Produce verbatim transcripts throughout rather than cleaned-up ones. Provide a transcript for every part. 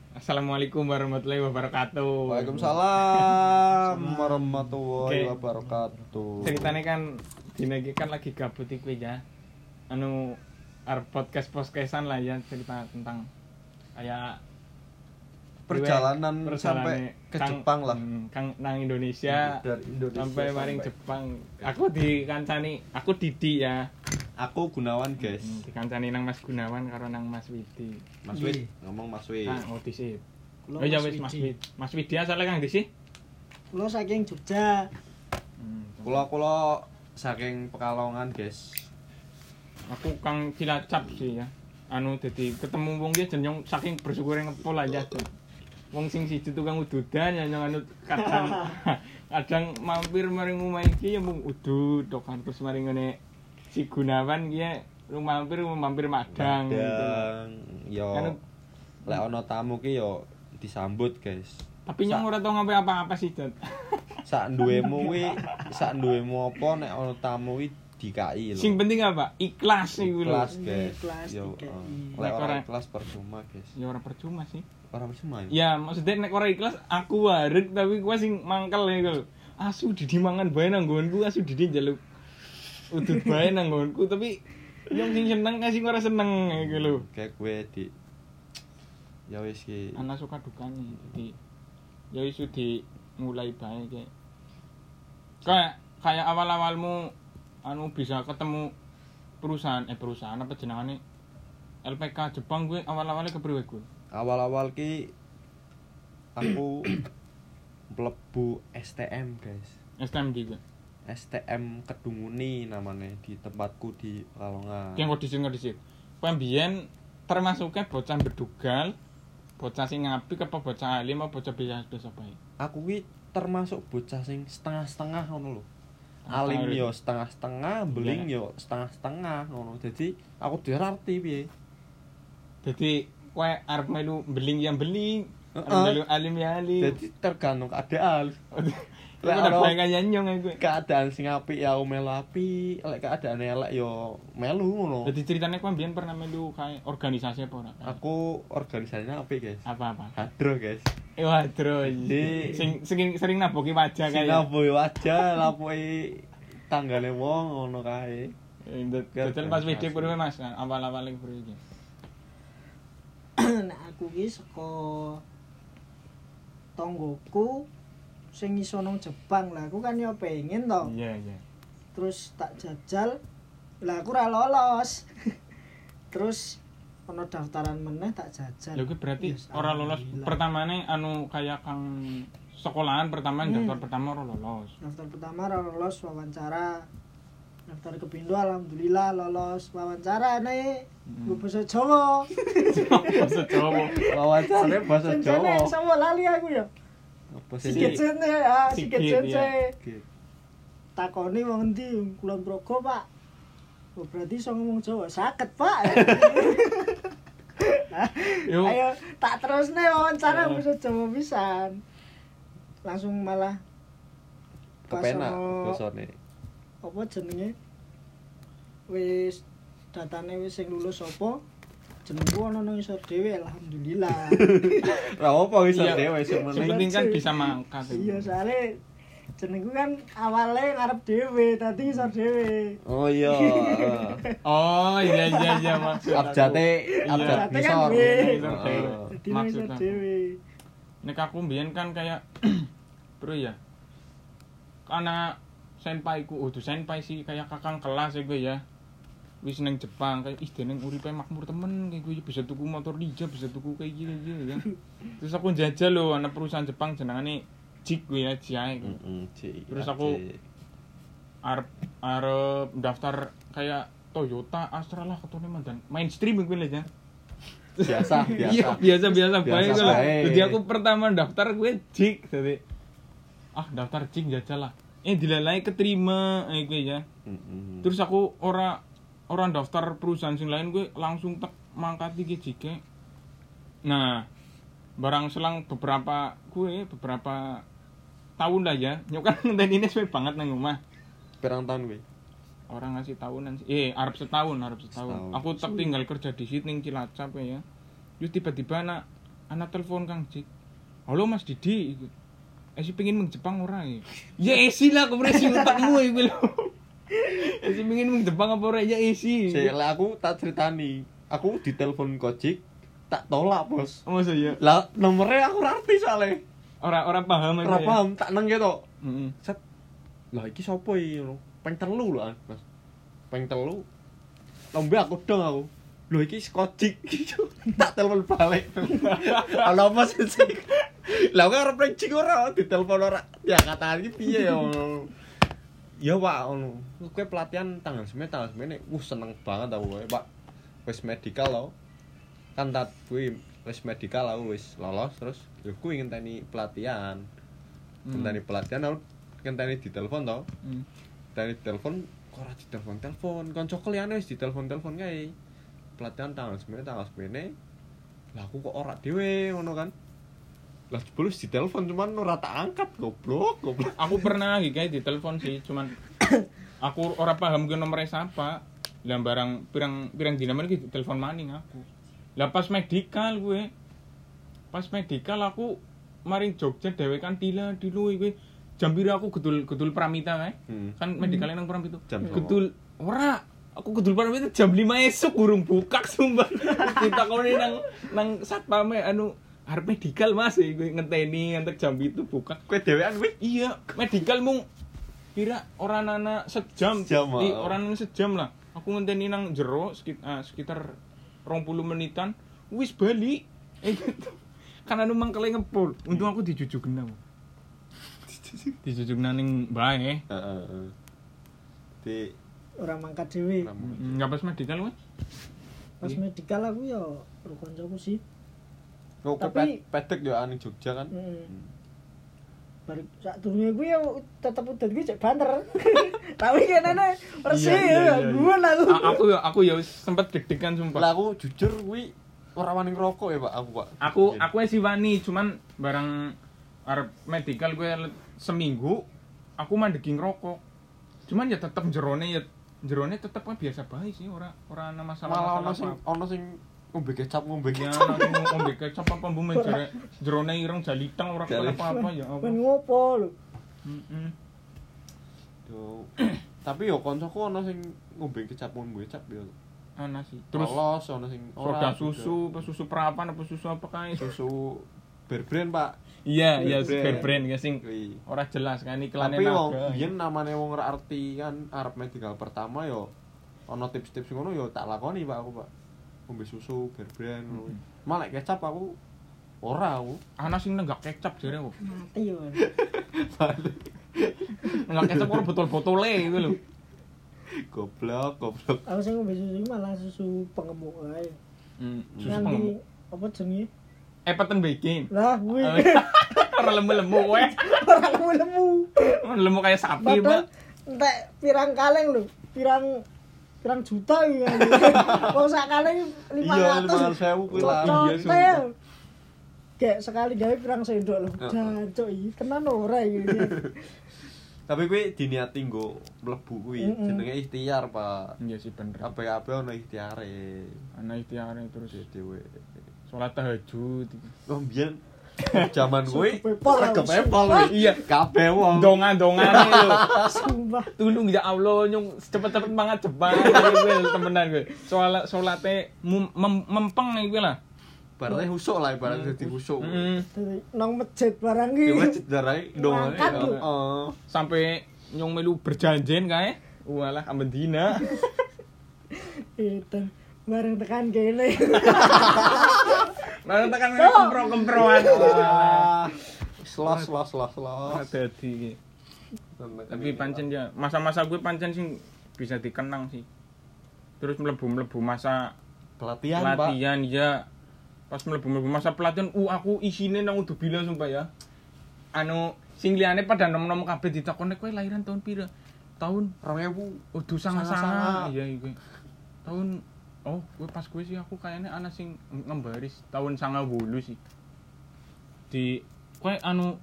Assalamualaikum warahmatullahi wabarakatuh. Waalaikumsalam warahmatullahi Oke. wabarakatuh. Ceritanya kan dina iki kan lagi gabut iku ya. Anu arep podcast-podcastan lah ya, cerita tentang kayak Perjalanan sampai ke Kang- Jepang lah. hmm, Kang nang Indonesia, Dari Indonesia sampai maring Jepang. Aku dikancani, aku Didi ya. Aku Gunawan, guys. Hmm, dikancani nang Mas Gunawan karo nang Mas Widi. Mas Wid, ngomong Mas Wid. Kang oh disip. Kulo Oh iya Mas wis Mas Widi. Wid. Mas Widi asale Kang di sih? Kulo saking Jogja. Hmm. Kula-kula saking Pekalongan, guys. Aku Kang Cilacap sih ya. Anu dadi ketemu wong ki jeneng saking bersyukure ngepol aja tuh. Wong sing siji tukang ududan ya yang anu kadang kadang mampir maring omah iki ya mung udud tok kan terus maring ngene si Gunawan ki ya lu mampir mampir madang gitu. Dan yo Kan- lek ana tamu ki yo disambut, guys. Tapi nyong ora tau ngapain apa-apa sih, Dad. Sak duwemu kuwi, sak duwemu apa nek ana tamu kuwi dikai lho. Sing penting apa? Ikhlas iku lho. Ikhlas, guys. Ikhlas, Yo, dikai. eh, lek Nek ora ora- ikhlas percuma, guys. Ya ora percuma sih. Ora percuma. ya? Ya, maksudnya nek ora ikhlas aku waret tapi gua sing mangkel iku lho. Asu Didi mangan bae nang nggonku, asu Didi njaluk udut bae nang nggonku tapi yang sing seneng kasih ora seneng iku lho. Kayak gue di ya wis ki Ana suka dukane. Jadi ya wis di mulai bae kayak kayak kayak awal-awalmu anu bisa ketemu perusahaan eh perusahaan apa jenengane L P K Jepang gue awal-awalnya kepriwe gue? awal-awal ki aku mlebu S T M, guys. S T M D gue. S T M Kedunguni namanya di tempatku di Pekalongan. Yang kok dising disik. Kowe mbiyen termasuknya bocah bedugal, bocah sing ngapik apa bocah alim apa bocah biasa-biasa bae. Aku ki termasuk bocah sing setengah-setengah ngono lho. Ah, Alim tahu. yo setengah-setengah, beling yo setengah-setengah ngono. Jadi aku dirarti piye. Jadi kowe arep melu beling yang beling, arep Heeh. melu alim ya alim. Jadi tergantung keadaan. Lek Lek ora ono- bae kaya nyong gue. Keadaan sing apik ya aku melu apik, lek keadaan elek yo melu ngono. Jadi ceritanya kowe mbiyen pernah melu kayak organisasi apa ora? Aku organisasinya apik, guys. Apa-apa? Hadro, guys. Eh wadro Jadi- sing sing sering naboki wajah Sing kayak. naboki wajah, lapoki tanggane wong ngono kae. Betul pas video kuwi Mas, awal-awal iki kuwi. Nek aku ki saka tonggoku sing iso nang Jepang lah. Aku kan yo pengen to. Iya, iya. Terus tak jajal. Lah aku ora lolos. Terus ono daftaran meneh tak jajal. Lha kuwi berarti Yes, ora lolos. alhamdulillah. Pertamane anu kayak Kang sekolahan pertama Hmm. daftar pertama ora lolos. Daftar pertama ora lolos wawancara. Daftar kepindo alhamdulillah lolos wawancara nih. Hmm. Gue bahasa Jawa. Bahasa Jawa. Wawancane bahasa Senjane Jawa. sama lali aku ya. Apa sih? Sikit jene ah, Sikit, sikit iya. jene. Sikit. Takoni wong ndi Kulon Progo, Pak. Oh, berarti iso ngomong Jawa. Saged, Pak. Yo. Ayo tak terusne wawancara Iya. bisa Jawa pisan. Langsung malah pas Kepenak ono- basane. apa jenenge? Wis datane wis sing lulus apa? Jenengku ono nang isor dhewe alhamdulillah. Lah opo iso Iya. dhewe sing Yang meneh. penting kan bisa mangkat. Iya, soalnya jenengku kan awalnya ngarep dhewe, tadi isor dhewe. Oh iya. Oh, iya iya iya maksud. aku. Abjate Iya. abjad Abjate kan ngisor. gue. Isor Heeh. dhewe. Dadi nang isor Maksud aku. dhewe. Nek aku mbiyen kan kayak bro ya. Karena senpaiku, oh tuh senpai sih kayak kakang kelas ya gue ya. Wis neng Jepang kayak ih deneng uripe makmur temen kayak gue bisa tuku motor Ninja, bisa tuku kayak gini gitu kan. Terus aku jajal loh anak perusahaan Jepang jenengane Jik gue ya, Jai. Heeh, Cik. Terus aku- Arep arep daftar kayak Toyota, Astra lah ketone mandan. Mainstream gue lah ya. biasa Iya, biasa. biasa biasa Biasa bae gue lah. bae. Jadi aku pertama daftar gue Jik jadi ah daftar Jik jajal lah. Eh dilalai keterima eh gue ya. Heeh. Terus aku ora orang daftar perusahaan sing lain gue langsung tak mangkati ke Jike. Nah, barang selang beberapa gue beberapa tahun lah ya. Nyok kan ngenteni ini suwe banget nang omah. Pirang tahun kowe? Orang ngasih tahunan sih. Eh, Arab setahun, Arab setahun. Setahun. Aku tak tinggal kerja di sini ning Cilacap ya. Terus tiba-tiba nak ana telepon Kang Jik. Halo Mas Didi iku. Esi pengen meng Jepang ora ya? Ya esi lah kopresi utakmu iku lho. Esi pengen meng Jepang apa ora ya esi. Sik lah aku tak critani. Aku ditelepon Gojek tak tolak, Bos. Oh masa ya? Lah nomornya aku ora ngerti soalnya. Ora ora paham Ora paham tak nang gitu. Heeh. Set. Lah iki sapa iki ngono? Peng telu lho, Mas. Peng telu. Lombe aku dong aku. Lho iki Gojek. Tak telepon balik. Ala apa sih? Lah kok ora prank ora ditelepon ora. Ya kata iki piye ya ngono. Ya Pak ngono. Kowe pelatihan tanggal semene tanggal semene. Wuh seneng banget aku kowe, Pak. Wis medical lho. Kan tak kuwi wis medical aku wis lolos terus ya kuwi ngenteni pelatihan. Ngenteni pelatihan aku ngenteni ditelepon to. Hmm. Ngenteni ditelepon kok ora ditelepon-telepon. Kanca liyane wis ditelepon-telepon kae. Pelatihan tanggal semene tanggal semene. Lah aku kok ora dhewe ngono kan. Lah jebul ditelepon cuman ora tak angkat goblok, goblok. Aku pernah iki kae ditelepon sih, cuman aku ora paham ki nomere sapa. Lah barang pirang pirang dina meneh ki telepon maning aku. Lah pas medical gue. Pas medical aku maring Jogja dhewe kan tila dilu kuwi. Jam pira aku gedul gedul Pramita kae. Hmm. Kan medical nang Pramita. Jam Gedul ora aku gedul Pramita jam lima esuk burung bukak sumpah. Ditakoni nang nang satpame anu arep medical Mas iku ngenteni ngantek jam itu buka. Kowe dhewean kuwi? Iya, medical mung kira ora nana sejam. Sejam, Di oh. ora nana sejam lah. Aku ngenteni nang jero sekitar, uh, sekitar dua puluh menitan wis bali. Eh gitu. Kan anu mangkele ngepul. Untung aku dijujugna. Dijujugna ning bae. Heeh, heeh. Di Ora mangkat dhewe. Enggak pas medical kuwi. Pas medical aku ya karo kancaku sih. Oh, Tapi- Tapi pedek yo ning Jogja kan. Heeh. Balik sak durunge kuwi ya tetep udan kuwi cek banter. Tapi kenane resik Iya, iya, ya iya. guyon aku. A- aku ya aku ya wis sempet deg-degan Lah sumpah. aku jujur kuwi ora wani ngerokok ya, Pak, aku, Pak. Aku aku wis wani cuman barang arep medical gue seminggu aku mandegi ngerokok. Cuman ya tetep jerone ya jerone tetep kan biasa bae sih ora ora ana malah masalah-masalah ono sing apa. ono sing ngombe kecap ngombe Ya kecap. ana ngombe kecap apa mbuh jere jerone ireng jalitang ora Jali- apa-apa ya apa. Ben ngopo lho. Heeh. Yo. Tapi yo kancaku ono sing ngombe kecap ngombe kecap yo. Ana sih. Terus Terus ono sing soda ora susu, apa susu perapan apa susu apa kae. susu berbrand, Pak. Iya, iya Bear Bear Brand ya sing Kuwi. ora jelas kan iklane Tapi wong naga. biyen namane wong ora arti kan arep medical pertama yo ono tips-tips ngono yo tak lakoni, Pak, aku, Pak. Ngombe susu berbrand ngono. Malah kecap aku ora aku. Ana sing nenggak kecap jere kok. Mati yo. Nenggak kecap ora botol-botole iku lho. Goblok, goblok. Aku sing ngombe susu malah susu pengemuk ae. Hmm, susu Nganti pengemuk. apa jenenge? Epetan bikin. Lah kuwi Ora lemu-lemu kowe. ora lemu-lemu. Lemu kayak sapi, Padahal Pak. entek pirang kaleng lho, pirang pirang juta iki. Wong sak kaleng lima Iya, ratus. lima ratus ribu kuwi lah. Iya, sumpah. Kayak sekali gawe pirang sendok lho. Heeh. Jancuk iki tenan ora iki. Tapi kuwi diniati nggo mlebu kuwi Mm-mm. jenenge ikhtiar, Pak. Iya sih bener. Kabeh-kabeh ono ikhtiare. Ana ikhtiare terus Dhewe. salat tahajud. Oh, mbiyen jaman kuwi Kepepol lah, kepepol sumpah. kuwi. Iya, kabeh wong. Dongan-dongane lho. Sumpah. Tulung ya Allah nyung cepet-cepet mangat Jepang kuwi temenan kuwi. Soal salate mem- mem- mempeng iki lah. Barane husuk lah ibarat dadi husuk. Heeh. Dari nang masjid barang Ki iki. masjid darai dongane. Ngangkat lho. Heeh. Sampai nyung melu berjanjian kae. Walah amben dina. Itu bareng tekan kene. Bareng tekan kempro-kemproan. Ah, Slos slos slos slos. Dadi iki. Tapi pancen ya masa-masa gue pancen sing bisa dikenang sih. Terus mlebu-mlebu masa pelatihan, Pak. pelatihan ya. Pas mlebu-mlebu masa pelatihan, uh aku isine nang udah bilang sumpah ya. Anu sing liyane pada nom-nom kabeh ditakoni kowe lahiran tahun pira? Tahun dua ribu. udah Sanga-sanga. sanga-sanga. Iya iki. Tahun oh, gue pas gue sih aku kayaknya ana sing ngembaris tahun sanga wolu sih. Di kowe anu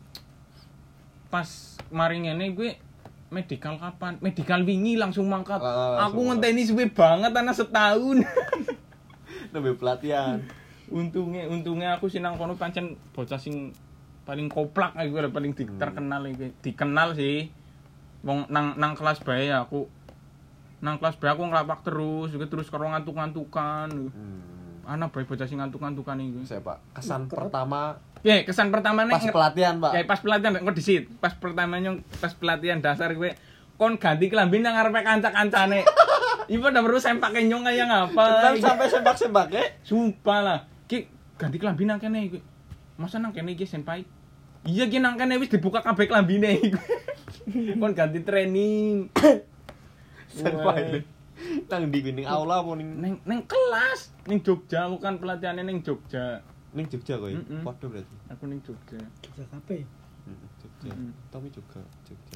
pas mari ngene gue medical kapan? Medical wingi langsung mangkat. Ah, aku langsung ngenteni suwe banget ana setahun. Nembe pelatihan. Untunge untunge aku sing nang kono pancen bocah sing paling koplak aku lho paling di, terkenal iki. Dikenal sih. Wong nang nang kelas bae aku nang kelas bae aku nglapak terus, juga terus karo ngantuk-ngantukan. Hmm. Ana bae bocah sing ngantuk-ngantukan iki. Saya Pak, kesan pertama Ya, kesan pertama nek pas pelatihan, Pak. Ya, pas pelatihan kok disit. Pas pertamanya pas pelatihan dasar kowe kon ganti klambi nang ngarepe kanca-kancane. Ibu udah perlu sempake nyong kayak ngapa? Cepetan sampai sembak-sembak ya. Sumpah lah. Ki ganti klambi nang kene iki. Masa nang kene iki senpai? Iya ki nang kene wis dibuka kabeh klambine iki. Kon ganti training. Senpai. Nang di ning aula apa ning Neng neng kelas, ning Jogja aku kan pelatihannya ning Jogja. ning Jogja kowe. Mm-mm. Padha berarti. Aku ning Jogja. Jogja kape. Heeh, Jogja. Mm-mm. Tommy juga Jogja.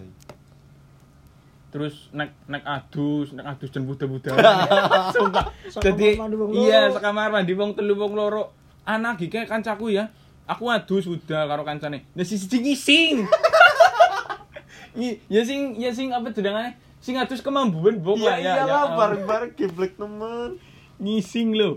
Terus nek nek adus, nek adus jen buda-buda. Sumpah. Jadi Sakamar mandi wong loro. iya sekamar mandi wong telu wong loro. Anak iki kayak kancaku ya. Aku adus udah karo kancane. Nah sisi ngising. I, ya sing ya sing apa jenengane? Sing adus kemambuan bok Iya lah ya. iyalah ya, bareng-bareng geblek temen. ngising lho.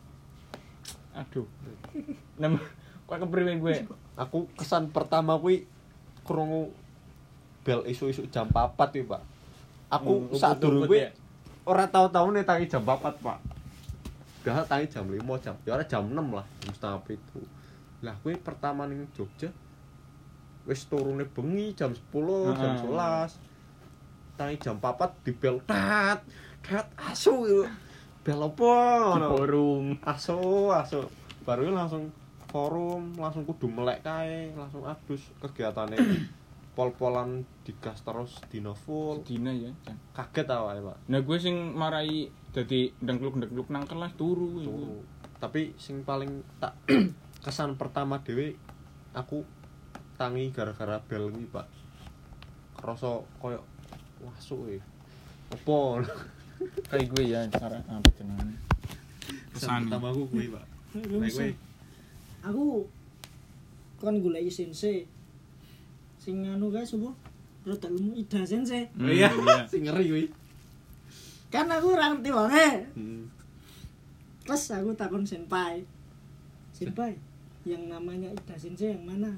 Aduh. Nama kok kepriwe gue? Aku kesan pertama kuwi krungu bel isu-isu jam papat kuwi, Pak. Aku Hmm, sak durung uput-uput kuwi ya. ora tau-tau nih tangi jam papat, Pak. Gak tangi jam lima jam. Ya ora jam enam lah, jam setengah pitu. Lah kuwi pertama ning Jogja wis turune bengi jam sepuluh, jam Heeh. sebelas. Tangi jam papat di bel tat. Tat asu yo. Bel apa Di ngono. forum. Asu, asu. Baru langsung forum, langsung kudu melek kae, langsung adus kegiatane. Pol-polan digas terus dina full. Dina ya. Jan. Kaget awake, Pak. Nah gue sing marai dadi ndengkluk-ndengkluk nang kelas turu. Turu. Tapi sing paling tak kesan pertama dhewe aku tangi gara-gara bel kuwi, Pak. Kerasa koyo wasuk e. Apa? Kayak gue ya cara apa jenenge. Kesan Kesan. pertama aku kuwi, Pak. Nek kowe Aku kan golek sensei. Sing anu kae sapa? Rada lemu Ida sensei. Hmm, iya, iya. sing ngeri kuwi. Kan aku ora ngerti wonge. Hmm. Terus aku takon senpai. Senpai, yang namanya Ida sensei yang mana?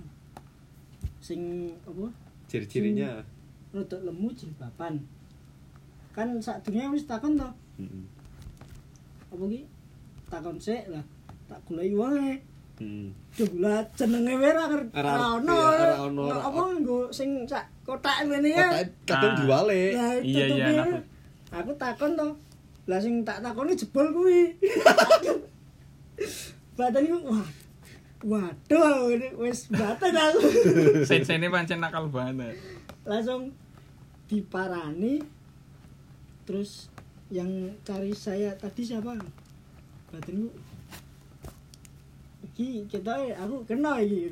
Sing apa? Ciri-cirinya. Rada lemu jilbaban. Kan sadurunge wis takon to. Heeh. Apa ki? Takon sik lah. Tak goleki wae. Hmm. Jumlah jenenge wae ora ker- Ora ora ono. ngerti ya, ora ono. Apa nggo sing sak kotak ngene ya. Kotake kadung Ah. diwale. Lah, Iya, tutup iya, ya. aku. Aku takon to. Lah sing tak takoni jebol kuwi. Badan iku wah. Waduh, ini wis baten aku. Sensene pancen nakal banget. Langsung diparani. Terus yang cari saya tadi siapa? Badan iku iki kita aku kena iki.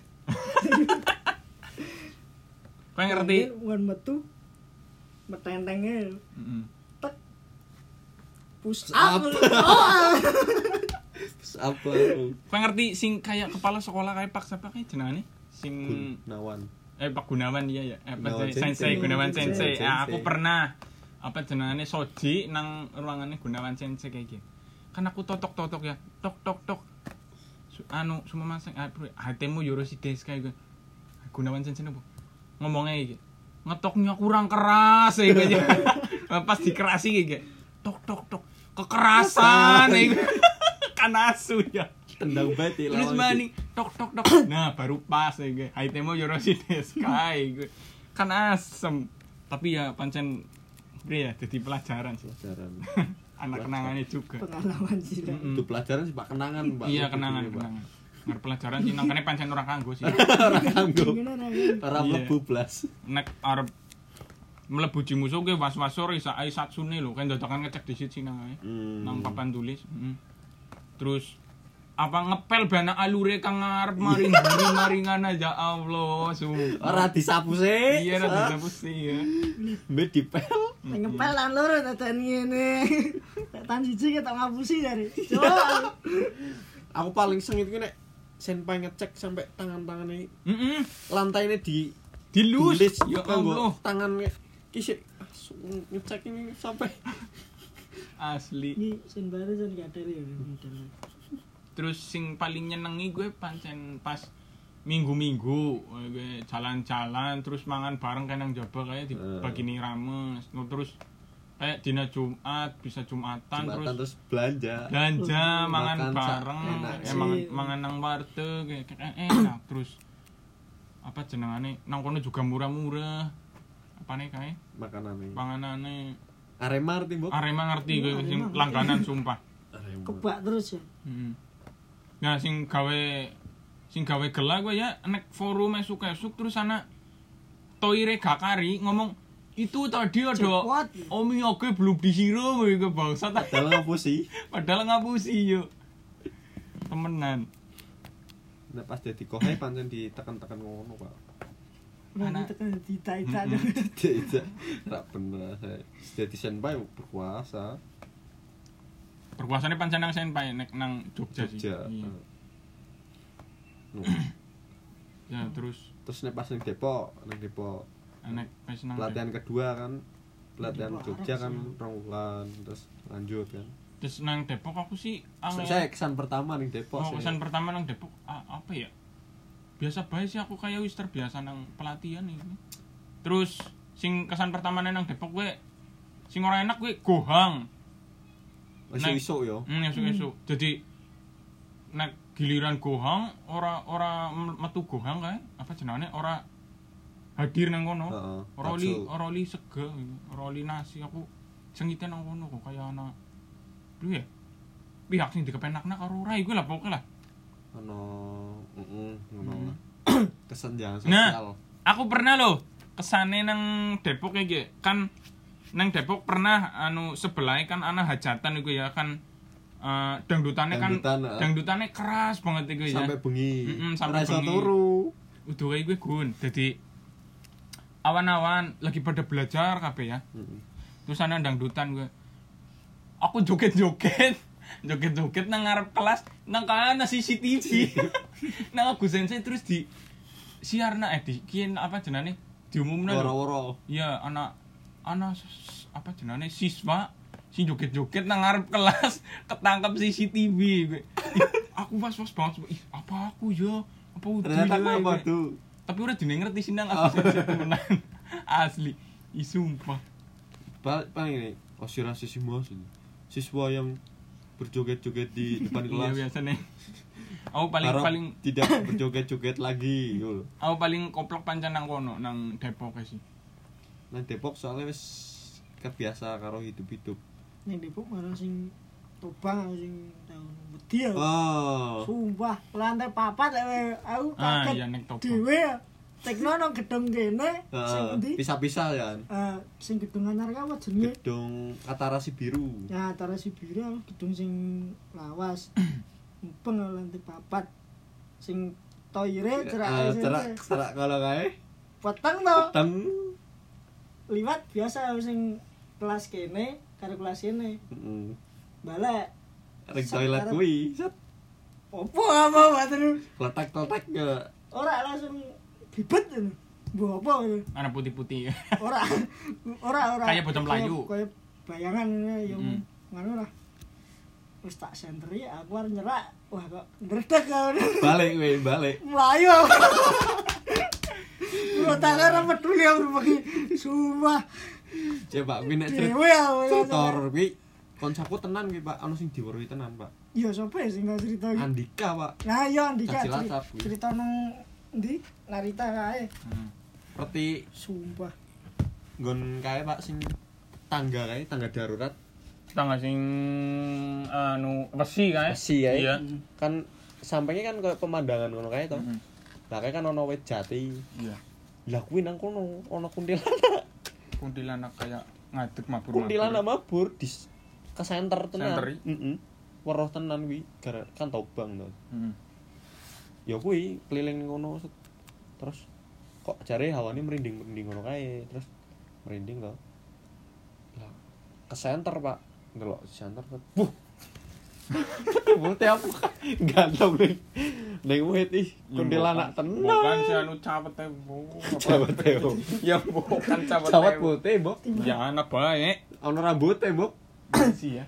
Kowe ngerti? Wan metu metentenge Heeh. tek push Up. up. Oh. Apa? Kowe ngerti sing kayak kepala sekolah kayak Pak siapa kayak jenenge? Sing Gunawan. eh Pak Gunawan iya ya. Eh Pak Gunawan Sensei Sensei. Gunawan Sensei. Sensei. Sensei. Ah, aku pernah apa jenenge Soji nang ruangannya Gunawan Sensei kayak gitu. Kan aku totok-totok ya. Tok tok tok. Su- anu semua masing ah hatemu Yorosides kayak gitu. Gunawan Sensei nopo? Ngomongnya iki. Ngetoknya kurang keras ya gitu. Pas dikerasi gitu. Tok tok tok. Kekerasan ya. Kan asu ya. Tendang bae Terus mani tok tok tok. Nah, baru pas ya gue. Haitemo Yorosides kai gue. Kan asem. Tapi ya pancen bre ya jadi pelajaran sih. Pelajaran. Anak kenangannya juga. Pengalaman sih lah. Mm-mm. Itu pelajaran sih Pak kenangan, Pak. Iya Itu kenangan Pak. kenangan. Ngar pelajaran sih nangkane pancen ora kanggo sih. Ora kanggo. Gimana namanya? Ora Iya. mlebu blas. Nek arep mlebu jimuso ge was-wasor isa ai satsune lho, kan dadakan ngecek disit sih nang ae. Hmm. Nang papan tulis. Mm. Terus apa ngepel bana alure kang ngarep maring buri maringan aja Allah sumpah. Ora disapu sih. Iya ora dihapus sih ya. Mbek dipel. Ngepel lan loro dadan ngene. Tak tan siji ketok ngapusi jare. Coba. Aku paling sengit ki nek senpai ngecek sampai tangan-tangane Heeh. lantaine di Dilus. tulis Ya kanggo Allah. tangan ki sik ngecek ini sampai Asli. Ini sen baru sen gak ada ya. Terus sing paling nyenengi gue pancen pas minggu-minggu gue jalan-jalan terus mangan bareng kan nang jaba kayak dibagini rames. No, terus kayak dina Jumat bisa Jumatan, Jumatan terus, terus belanja belanja Uh, mangan makan bareng enak ya, sih. mangan mangan nang warteg kayak kayak enak terus apa jenengane nang kono juga murah-murah apa nih kayak makanan ini panganane Arema arti mbok Arema ngerti gue Arema sing ngerti. langganan sumpah. Arema Kebak terus ya. Hmm. Nah sing gawe sing gawe gela gue ya nek forum esuk-esuk terus ana Toire Gakari ngomong itu tadi ada Jackpot. Omi oke belum disiram ke bangsa dalam apa sih padahal ngapusi yo temenan. nah pas jadi kohai pancen ditekan-tekan ngono Pak. Nanti Anak- tekan dita-ita. Tidak, tidak benar saya jadi senpai berkuasa Berkuasane pancen nang senpai nek nang Jogja, sih. Jogja. Iya. No. Ya terus Terus nek pas ning Depok, ning Depok nek wis nang pelatihan kedua kan pelatihan Depok Jogja arep kan sih. rong wulan terus lanjut kan. terus nang Depok aku sih angel- Saya kesan pertama ning Depok oh, sih. kesan pertama nang Depok a- apa ya? Biasa bae sih aku kayak wis terbiasa nang pelatihan ini. Terus sing kesan pertama nang Depok gue sing ora enak gue gohang. Masih iso yo. Hmm, esuk-esuk. Jadi nek giliran gohang ora ora metu gohang kae apa jenenge ora hadir nang kono. Heeh. Ora oli bakso. ora oli sega, ora oli nasi aku sengite nang kono kok kaya ana piye? Pihak sing dikepenakna karo ora iku lah pokoke lah. Ono heeh ngono Hmm. lah. Kesenjangan Nah. sosial. Aku pernah loh kesane nang Depok iki kan nang Depok pernah anu sebelah kan ana hajatan iku ya kan eh, dangdutane kan Dangdutan, heeh. dangdutane keras banget iku ya. Sampai bengi. Mm-mm, sampai Ora iso bengi. turu. Udah kayak gue gun. Jadi awan-awan lagi pada belajar kabeh ya. Heeh. Terus ana dangdutan gue. Aku joget-joget. Joget-joget nang ngarep kelas nang kana C C T V. Nang aku sensei terus di siarna eh di kian apa jenenge diumumna lho. Woro-woro. Iya, anak anak s- apa jenenge siswa si joget-joget nang ngarep kelas ketangkep C C T V gue. Ih, aku was-was banget. Ih, apa aku ya? Apa udah Ternyata ya, apa gue? tuh? Tapi udah dine ngerti sih nang aku sensei temenan. Asli. Ih, sumpah. Paling paling ini aspirasi siswa sini. Siswa yang berjoget-joget di depan Iya kelas. biasa nih. Aku paling Harap paling tidak berjoget-joget lagi gitu. aku paling koplok pancen nang kono nang Depok sih. Nah Depok soalnya wis kebiasa karo hidup-hidup. Ning Depok malah sing Tobang sing tahun wedi ya. Oh. Sumpah, lantai papat eh, aku Ah, kaget iya, ning Tobang. dhewe ya. Tekno nang gedung kene sing Heeh, endi? pisah-pisah ya. Eh, sing gedung anyar ka apa jenenge? Gedung Katarasi Biru. Ya, antara si biru gedung sing lawas. Mumpeng lantai papat. Sing toire cerak Eh, cerak cerak kalau kae peteng to. teng. Liwat biasa sing kelas kene karo kelas kene. Heeh. Balik. Ring Set toilet karo- kuwi. Set. Opo apa wae Letek-letek ke ora langsung bibet ngono. Mbok apa ngono. Anak putih-putih. Ora ora ora. Kayak bocah Melayu. Kayak bayangan ini yang Mm. ngono lah. Wis tak sentri aku arep nyerak. Wah kok ndredeg kau. balik kuwi, balik. Melayu. Lo tak ora peduli aku pergi. Sumpah. Coba kuwi nek cerita Dewe aku. tutor kuwi koncoku tenan kuwi Pak, ono sing diweruhi tenan Pak. Iya sapa ya sing gak cerita iki? Andika Pak. Nah iya Andika Caci ceri- Lacap kuwi. cerita nang ndi? Narita kae. Hmm. Roti Sumpah. nggon kae Pak sing tangga kae, tangga darurat. Tangga sing anu besi kae. Besi kae. Iya. Kan sampingnya kan kayak pemandangan ngono kae to. Mm-mm. Lah kae kan ono wit jati. Iya. Lah kuwi nang kono ono kuntilanak. Kuntilanak kayak ngadeg mabur. Kuntilanak mabur di s- ke center tenan. Center i? Heeh. Weruh tenan kuwi gara kan Tobang to. Heeh. Ya kuwi keliling ngono set. Terus kok jare hawane merinding-merinding ngono kae, terus merinding to. Lah ke center, Pak. Ndelok center set. Wuh. Bote apa? Ganteng ning ning wit ih kuntilanak tenan. Bukan si anu cawete. Bu. Cawete, Bu. Ya bukan cawete. Cawet putih, Mbok. Ya anak baik. Ono rambute, Mbok. Sih ya.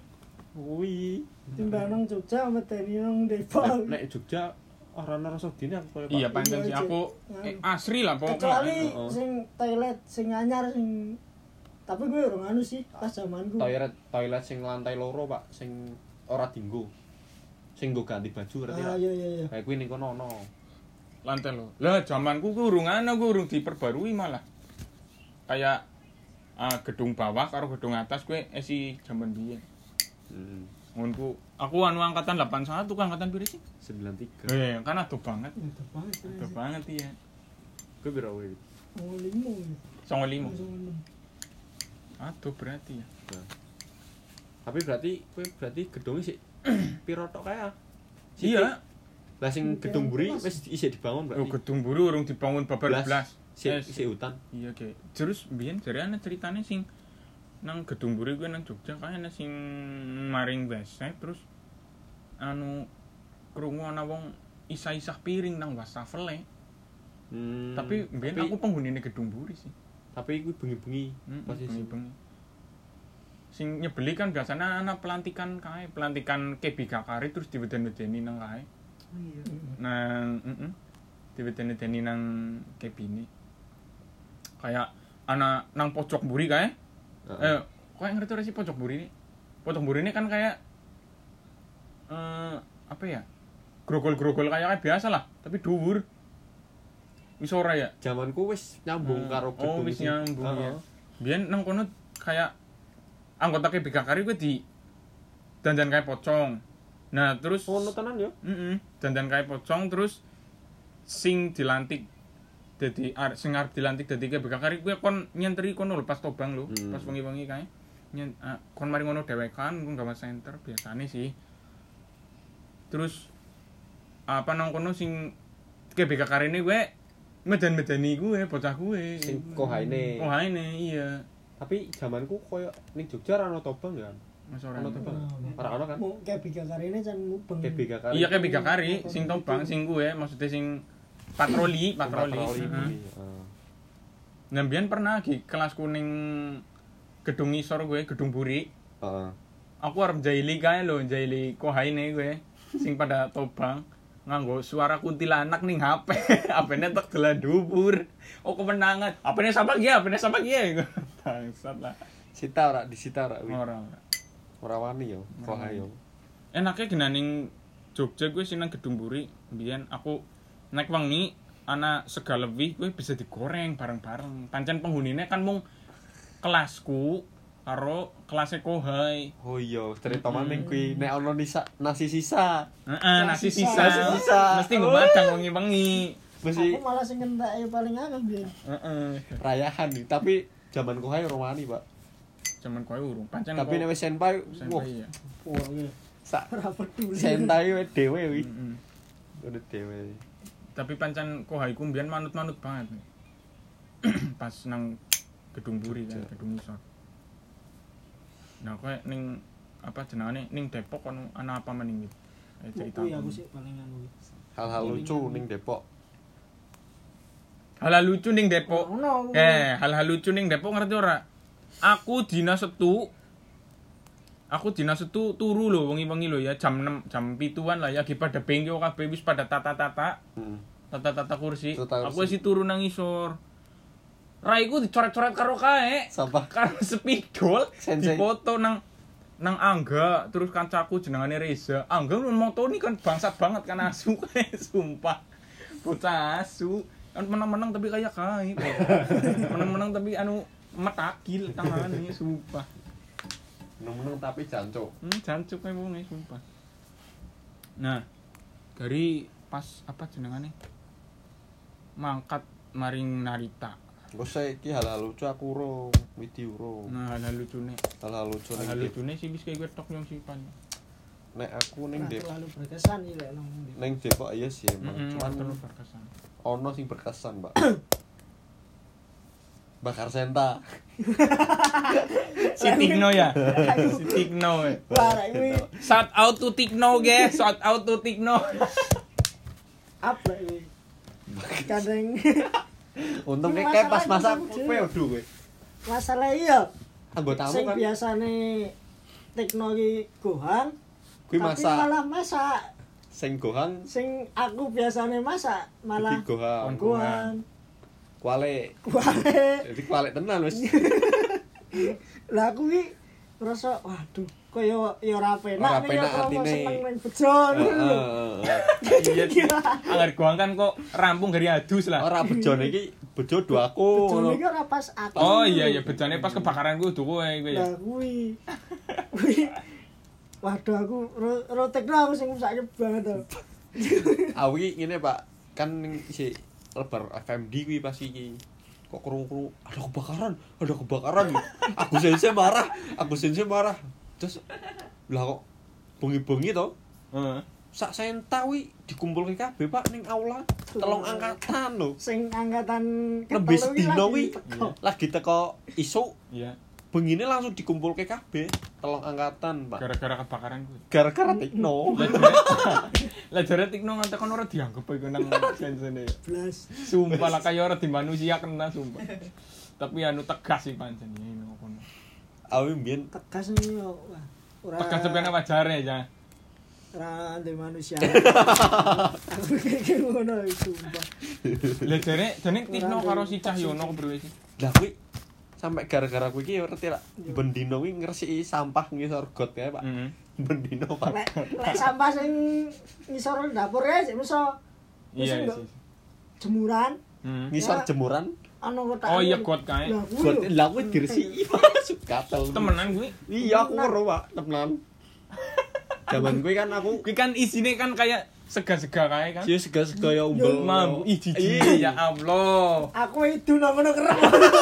Kuwi. Timbang nang Jogja medeni nang Depok. Nek Jogja ora ana rasa dine aku koyo Iya Pak. pancen sih aku eh, asri lah pokoknya. Kecuali Heeh. sing toilet sing anyar sing tapi gue urung anu sih pas zamanku. Toilet toilet sing lantai loro, Pak, sing ora dienggo. Sing nggo ganti baju ngerti Ah ra? iya iya iya. Kayak kuwi ning kono ono. Lantai lo. Lah zamanku ku urung ana, ku urung diperbarui malah. Kayak ah, gedung bawah karo gedung atas kuwi isi jaman biyen. Heeh. Ngonku aku anu angkatan delapan puluh satu kan angkatan piro sih? sembilan tiga. Eh, kan aduh banget. Itu banget. Aduh banget iya. Kuwi piro kuwi? Oh limo. Songo limo. Langsung enam. Aduh berarti ya. Nah. Tapi berarti kuwi berarti gedungnya sih piro tok kae? Iya. Lah sing gedung mburi wis isih dibangun Oh, berarti. gedung buru urung dibangun babar Belas. belas. Sik Eh, sik hutan. Iya kayak terus biyen jarane ceritane sing nang gedung buri kuwi nang Jogja kae ana sing maring besek terus anu krungu ana wong isah-isah piring nang wastafel e. Hmm. Tapi biyen tapi- aku penghunine gedung buri sih. Tapi kuwi bengi-bengi Hmm, posisi. bengi-bengi. Sing nyebeli kan biasanya ana pelantikan kae, pelantikan K B G Kari terus diweden-wedeni nang kae. Iya. Nang heeh. Diweden-wedeni nang kebine. Kayak ana nang pojok mburi kae. Heeh. Eh, kok ngerti ora sih pojok mburi ini? Pojok mburi ini kan kayak eh apa ya? Grogol-grogol kayak biasa lah, tapi dhuwur. Wis ora ya? Zamanku wis nyambung Hmm. karo Oh, gedung wis sing- nyambung Heeh. ya. Biyen nang kono kayak anggota K B G Kari kuwi di dandan kayak pocong. Nah, terus Ono tenan ya? heeh, dandan kayak pocong terus sing dilantik dadi ar, sing arep dilantik dadi K B G Kari kuwi kon nyentri kono lho pas tobang lho, Hmm. pas wengi-wengi kae. Nyen ah, kon mari ngono dhewekan ku gawe center biasane sih. Terus apa nang kono sing K B G Kari ini kuwi medan-medani kuwi bocah kuwi. Sing kohaine. Kohaine iya. Tapi zamanku koyo ning Jogja ora ono tobang ya. Mas ora. Ono tobang. Ora ono kan? Mau kayak biga kari ini can mubeng. K B G Kari. Iya K B G Kari sing tobang sing kuwi maksudnya sing patroli, patroli. Patroli. Heeh. Heeh. Nah, biyen pernah lagi kelas kuning gedung ngisor gue, gedung buri. Heeh. Aku arep jaili kae lho, jaili kohaine gue sing pada tobang nganggo suara kuntilanak ning H P. H P-ne tek dolan dhuwur. Oh, kemenangan. H P-ne sama ya, H P-ne sama ya. Bangsat lah. Sita ora disita ora kuwi. Ora, ora. Ora wani yo, kohai yo. Enake gena ning Jogja gue sing nang gedung buri, biyen aku naik wengi ana sega lebih gue bisa digoreng bareng-bareng. Pancen penghunine kan mung kelasku karo kelasnya kohai. Oh iya, cerita Mm-mm. maning kuwi nek ono nisa, nasi sisa. Heeh, nasi Nasi sisa. Nasi sisa. Mesti nggo madang wengi-wengi. Mesti Aku malah sing ngentek paling akeh biyen. Heeh. rayahan nih, tapi zaman kohai ora wani, Pak. Jaman kowe urung. Pancen Tapi nek wis senpai, wah, senpai ya. Wah, iya. sak Ora peduli. sentai we dhewe wi. Heeh. Udah dhewe. Tapi pancen kohai ku mbiyen manut-manut banget. Pas nang gedung buri kan, Jogja. gedung isor. Nah, kowe ning apa jenengane ning Depok ono ana apa meneh iki? Eh cerita. Kuwi aku sih paling anu. Hal-hal lucu ning Depok. Hal lucu ning Depok. Ono. Eh, hal-hal lucu ning Depok ngerti ora? Aku dina Setu Aku dina Setu turu lho wengi-wengi lho ya jam enam jam pituan lah ya lagi pada bengkel kabeh wis pada tata-tata, Heeh. tata-tata kursi. Tata kursi. Aku wis turu nang isor. Raiku dicoret-coret karo kae. Sampah. Karo spidol Sensei. dipoto nang nang Angga, terus kancaku jenengane Reza. Angga moto ini kan bangsat banget kan asu kae sumpah. Bocah asu. Kan menang-menang tapi kayak kae. Menang-menang tapi anu metakil tangane sumpah. Meneng-meneng tapi jancuk. Hmm, jancuk kae wonge sumpah. Nah, dari pas apa jenengane? Mangkat maring Narita. Engko saiki hal-hal lucu aku urung, widi urung. Nah, hal lucune. Hal-hal lucu ning Hal Depok. lucune sih wis kayak tok yang sipan. Nek aku ning Ora Depok, terlalu berkesan iki lek nang ndi. ning Depok iya sih emang. Heeh, Cuman terus berkesan. ono sing berkesan, Mbak. Bakar Senta. Si Tikno ya. Si Tikno. ya. Parah iki Shout out to Tikno, guys. Shout out to Tikno. apa iki? Kadang Untung Ini kayak pas masalahnya masak gitu. kowe odo kowe. masalah iya Anggotamu sing kan. biasane tekno iki gohan Kuwi tapi masak. malah masak Sing gohan sing aku biasane masak malah dadi gohan. gohan Kuale. kuale Jadi kuale tenan wis. lah aku ki ngerasa waduh kaya ya ora Ora penak nih penak aku atine. seneng ning bejo ngono lho. Iya. Angger goang kan kok rampung dari adus lah. Ora bejone iki bejo do aku. Bejone ngono. iki ora pas aku. Oh iya iya bejane pas kebakaran kudu kowe kowe ya. Lah kuwi. Kuwi. Waduh aku ro, ro tekno aku sing sakit banget to. Aku iki ngene Pak, kan ning si lebar F M D kuwi pas iki. Kok krungu-krungu ada kebakaran, ada kebakaran. Aku sense marah, aku sense marah. Terus lah kok bengi-bengi to, Heeh. sak senta kuwi dikumpulke kabeh Pak ning aula. Telung angkatan lho. Sing angkatan Lebih ketelu iki sedino lagi kuwi teko. lagi teko isuk, Iya. bengine langsung dikumpulke kabeh. Telung angkatan, Pak. Gara-gara kebakaran kuwi. Gara-gara Tikno. Lah jare lah jare Tikno ngantek kono ora dianggep iku nang sensene. Blas. Sumpah lah kaya ora di manusia kena sumpah. Tapi anu tegas sih pancen ini kono. Awi mbiyen Tegas nih yo. Wah, ora Tegas sebenarnya wajare ya. ora ndek manusia. Aku kayak ngono iki sumpah. Lah jare jane Tikno karo si Cahyono kepriwe sih? lah kuwi sampai gara-gara kuwi iki ya ngerti lah. Bendino kuwi ngresiki sampah ngisor got kae, Pak. Heeh. Bendino, Pak. Lek lek sampah sing ngisor dapur ya sik iso Iya Terus sih. jemuran Heeh. Ngisor Ya. jemuran. ana kotak. Oh iya got kae. Lah kuwi Got lho. lah kuwi diresiki, Pak. Sukatel. Temenan kuwi. Iya, aku ero, Pak. Temenan. Zaman kuwi kan aku Kuwi kan isine kan kayak sega-sega kae kan. sih sega-sega ya umbel. Mambu ih jijik Iya. ya Allah. Aku itu nang ngono kerep.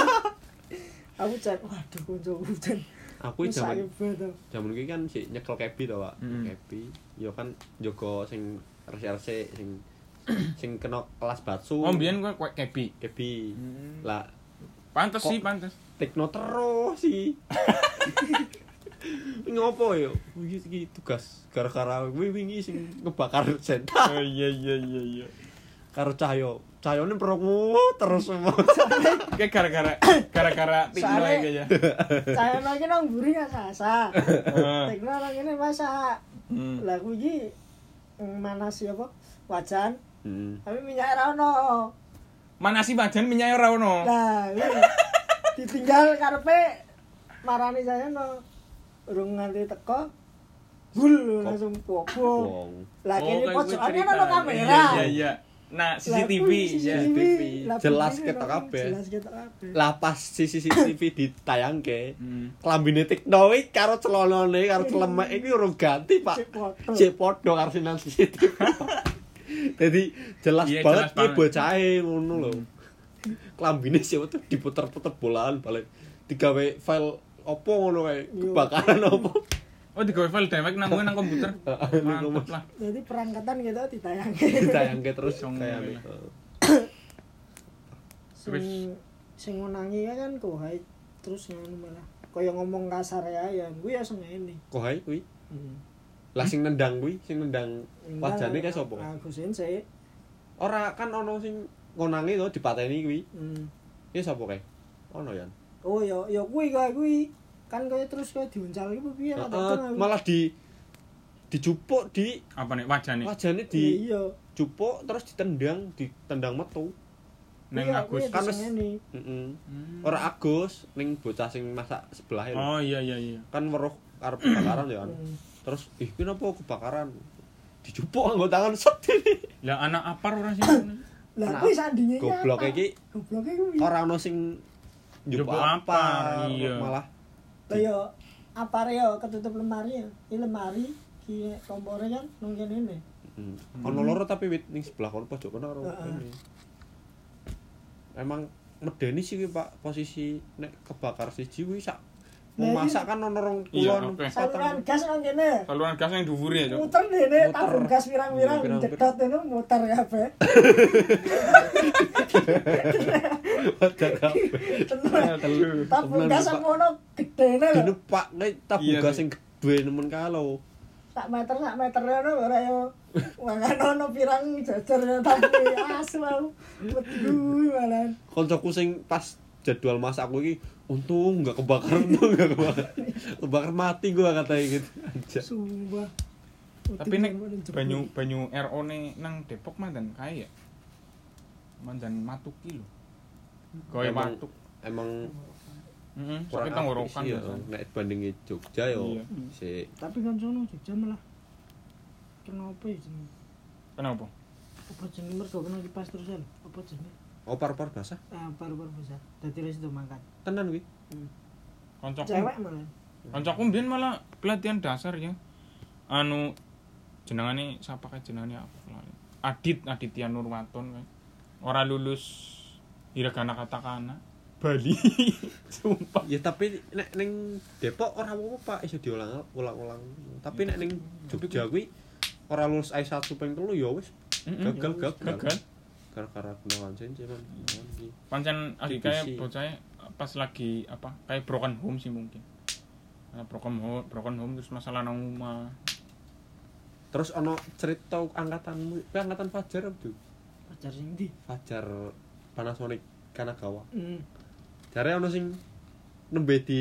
Aku cek, waduh koncoku jan. Aku zaman Sakit banget. zaman kuwi kan sik nyekel kebi to, Pak. Mm. Kebi. Ya kan jaga sing rese-rese sing sing kena kelas batsu. Oh mbiyen kowe kowe kebi. kebi. Hmm. Lah Pantes Kok- sih, pantes. Tekno terus sih. Ngopo yo? Iki iki tugas gara-gara kuwi wingi sing ngebakar senta Oh iya iya iya iya. karo Cahyo. Cahyone perunggu terus semua. Kayak gara-gara gara-gara Tikno Soalnya- iki ya. Saya lagi nang mburi nggak sasa. Heeh. Tekno nang ngene masak. Hmm. Lah kuwi iki mm, mana sih apa? Wajan. Hmm. Tapi minyak ra ono. Mana sih pajan minyak ora ono. Lah, kuwi ditinggal karepe marani saya no. Urung nganti teko. Gul langsung popo. Wong. Lah kene kayak gue pojokannya cerita. ono kamera. Iya iya. Nah, C C T V Lah, kuwi ya. C C T V. Lah, Jelas kuwi ketok no, kabeh. Jelas ketok kabeh. Lah pas C C T V ditayangke, Hmm. klambine Tikno iki karo celonone karo celemek iki urung ganti, Pak. Cek foto. Cek padha karo sinan C C T V. Jadi jelas Iya, banget jelas iki banget. bocahe ngono lho. Klambine sih tuh diputer-puter bolaan balik. Digawe file opo ngono kae, Yo. kebakaran opo. Oh, digawe file dewek nang nang komputer. Mantap lah. Jadi perangkatan gitu ditayangke. Ditayangke terus Song kayak ngene. gitu. Sing sing ngonangi kan kok hai terus ngono malah. Kaya ngomong kasar ya ya kuwi ya sengene. Kok hae kuwi? Hmm. Lah sing nendang kuwi, sing nendang wajane kae sapa? Aku sense. Ora kan ono sing ngonangi to dipateni kuwi. Hmm. Iki sapa kae? Ono ya. Oh ya ya kuwi kae kuwi. Kan kaya terus kaya diuncal iki piye ra Heeh, malah di dijupuk di Apa nih wajane? wajane di iya. jupuk terus ditendang, ditendang metu. Neng Iya, Agus. kuwi Kan wis- disengeni. Heeh. Hmm. Ora Agus ning bocah sing masak sebelah lho. Oh iya iya iya. Kan weruh arep kebakaran ya kan. Hmm. Terus ih ki napa kebakaran? Dijupuk nggo tangan set. Lah anak apar ora sih? Lah Nah, kuwi sandinge Goblok iki Gobloke kuwi. ora ono sing njupuk Njupuk apa, apar, iya. malah Lah yo apare yo ketutup lemari ya. Iki lemari ki kompore kan nang kene ne. hmm. ono loro tapi wit ning sebelah kono pojok kono karo Heeh. kene. Emang medeni sih kuwi Pak posisi nek kebakar siji kuwi sak mau Nah, masak kan ono rong Iya, kulon oke. Saluran gas nang kene. Saluran gas yang dhuwur ya, Cuk. Muter dene Muter. tabung gas pirang-pirang Iya, pirang-pirang. jedot ngono muter kabeh. Wajah kabeh. Tenan. Telu. Tabung Tenan, gas Pak. ngono gedene lho. Dene Pak nek tabung Iya, gas sih. sing gedhe nemen kalau. Sak meter sak meter ngono ora yo. Mangan ono pirang jajar ya tapi asu aku. Wedi malah. Koncoku sing pas C jadwal masakku iki untung enggak kebakar, untung enggak kebakar. Kebakar mati gua katanya gitu. Aja. Sumpah. Tapi nek banyu banyu R O ne nang Depok mandan kae ya. Mandan matuki lho. Gawe Emang- watuk. Emang Heeh, kurang sakit tenggorokan apik sih ya. biasa. Nek bandingi Jogja yo Iya. sik Tapi kan sono Jogja malah kenapa ya jenenge? Kenapa? Apa jenenge mergo kena kipas terus lho. Apa jenenge? opar-opar basah. Ah, paru-paru besar. Dadi wis itu mangkat. Tenan kuwi. Koncoku. Cewek malah. Koncoku mbiyen malah pelatihan dasar ya. Anu jenengane sapa kae jenengane aku lali. Adit Aditya Nurwaton kae. Ora lulus hiragana katakana Bali. Sumpah. Ya tapi nek ning Depok ora apa-apa Pak, iso diulang ulang-ulang. Tapi nek ning Jogja kuwi ora lulus I satu ping telu ya wis Mm-mm. gagal gagal. Gagal. Gara-gara kenalan cincin man. Iki. Pancen lagi Divisi. kayak bocah pas lagi apa kayak broken home sih mungkin. Nah, broken home, broken home terus masalah nang omah. Terus ono cerita angkatanmu, kuwi angkatan Fajar apa tuh? Pacar sing ndi? Fajar Panasonic Kanagawa. Hmm. Jare ono sing nembe di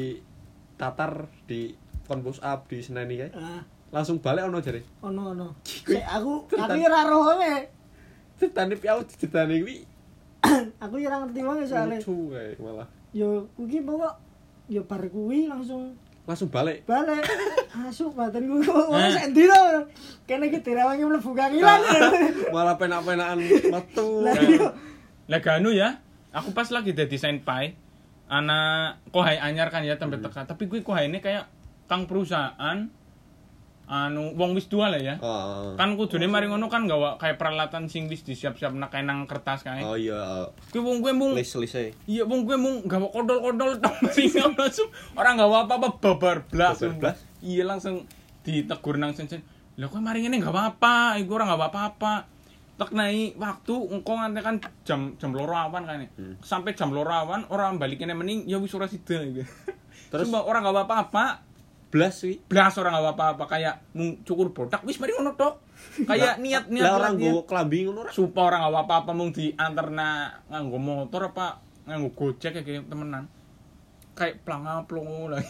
tatar di kon push up di Seneni kae. Ah, Langsung balik ono jare. ono ono. Kuwi- Sik aku Cerita- aku ora roh wae. Ceritane piau ceritane kuwi Aku ora ngerti wae soalnya. lucu kae malah. Yo kuwi pokok yo bar kuwi langsung Langsung balik. balik. Masuk badanku kok ora sendi to. Kene iki direwangi mlebu kangilan. Malah penak-penakan metu. Lah iya. Lah ganu ya, aku pas lagi dadi senpai, anak kohai anyar kan ya tempe teka, tapi kuwi kohaine kayak kang perusahaan anu wong wis dua lah ya. Oh, Kan kudune mari ngono kan gawa kayak peralatan sing wis disiap-siap nak kayak nang kertas kae. oh iya, Kuwi wong kuwi mung list-list. iya wong kuwi mung gawa kodol-kodol tok sing langsung ora gawa apa-apa babar blas. Babar blas? Iya langsung ditegur nang sen-sen. Lah kok mari ngene enggak apa-apa, iku ora gawa apa-apa. Tek nai waktu engko nganti kan jam jam loro awan kan. Hmm. Sampai jam loro awan ora balik kene mening ya wis ora sida gitu. Terus- Terus ora gawa apa-apa. Blas kuwi. Blas orang nggak apa-apa kayak mung cukur botak wis mari ngono tok. Kayak niat-niat Lah orang latihan. nggo klambi ngono ora. Sumpah orang nggak apa-apa mung dianterna nganggo motor apa nganggo Gojek kayak temenan. Kayak planga-plongo lagi.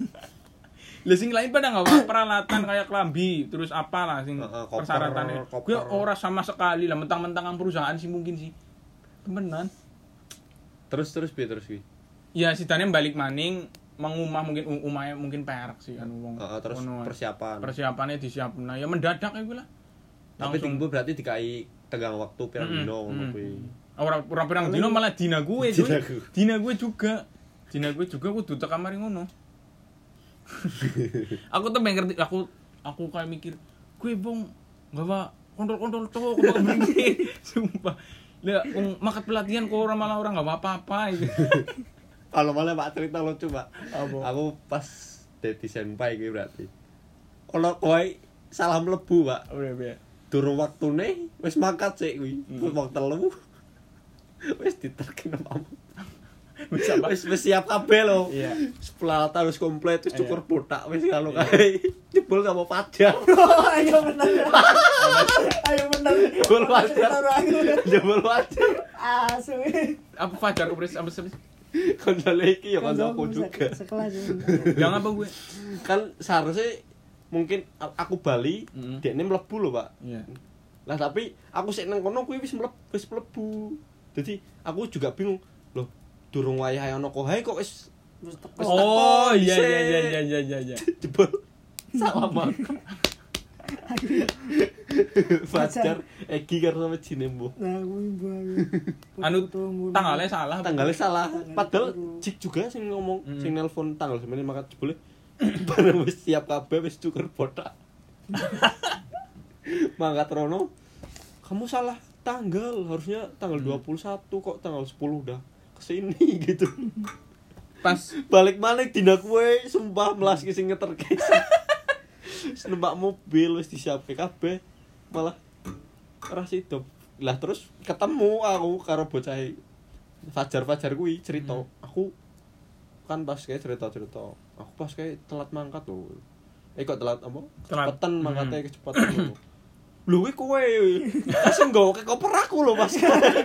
Lah sing lain pada nggak apa peralatan kayak klambi terus apa lah sing Heeh, koper, persyaratannya. koper. Gue ora sama sekali lah mentang-mentang ang perusahaan sih mungkin sih. Temenan. Terus terus piye terus kuwi? Ya sidane balik maning mengumah mungkin umahnya mungkin perak sih kan wong. Heeh, terus Ngono. persiapan. Persiapannya disiapna ya mendadak kayak gue lah. Tapi tinggu berarti dikai tegang waktu pirang Mm-mm, dino ngono mm. kuwi. Orang orang pirang dino malah dina gue, Dina cuy. gue. Dina gue juga. Dina gue juga kudu tekan mari ngono. Aku tuh pengen ngerti aku aku kayak mikir, gue bong gawa kontrol-kontrol tuh kok begini. Sumpah. Lah wong makat pelatihan kok orang malah orang enggak apa-apa gitu. Kalau malah Pak cerita lucu, Pak. Apa? Aku pas dadi senpai kuwi berarti. Ono kowe salah mlebu, Pak. Udah ya. Durung waktune wis mangkat sik kuwi. Hmm. Wong telu. Wis diterkin omamu. Wis apa? Wis wis siap kabeh lho. Iya. Sepelatan wis komplit, wis Iya. cukur botak wis kalau kae. Jebol sama Fajar. Oh, ayo bener. Ayo bener. Jebol Fajar. Jebol Fajar. Asu. Apa Fajar Kupres apa sih? Kondole iki ya kancaku juga. Sekelas. Jangan apa gue? Kan seharusnya mungkin a- aku bali, Mm-mm. dekne mlebu lho, Pak. Iya. Lah tapi aku sik nang kono kuwi wis mlebu, wis mlebu. Jadi aku juga bingung, loh, durung wayahe ana kohae kok wis Wis teko. Wis Oh teko, iya sik. iya iya iya iya iya iya. jebol. Salam aku. Fajar Egi karo sama Jinembo. Nah, kuwi mbah. Anu tanggalnya salah. apa? Tanggalnya salah. Tanggal Padahal biru. Jik juga sing ngomong, Mm. sing nelpon tanggal semene mangkat jebule. Bareng wis siap kabeh wis cukur botak. Mangkat rono. Kamu salah tanggal, harusnya tanggal dua puluh satu kok tanggal sepuluh udah kesini gitu. Pas Balik mana dina kue sumpah melas sing ngeterke. Wis numpak mobil wis disiapke kabeh malah ora sido. Lah terus ketemu aku karo bocah Fajar-Fajar kuwi cerita, aku kan pas kayak cerita-cerita. Aku pas kayak telat mangkat lho. Eh kok telat apa? Telat. Kecepatan Hmm. mangkatnya kecepatan lho. Lho kuwi kowe. Langsung nggawa ke koper aku lho pas.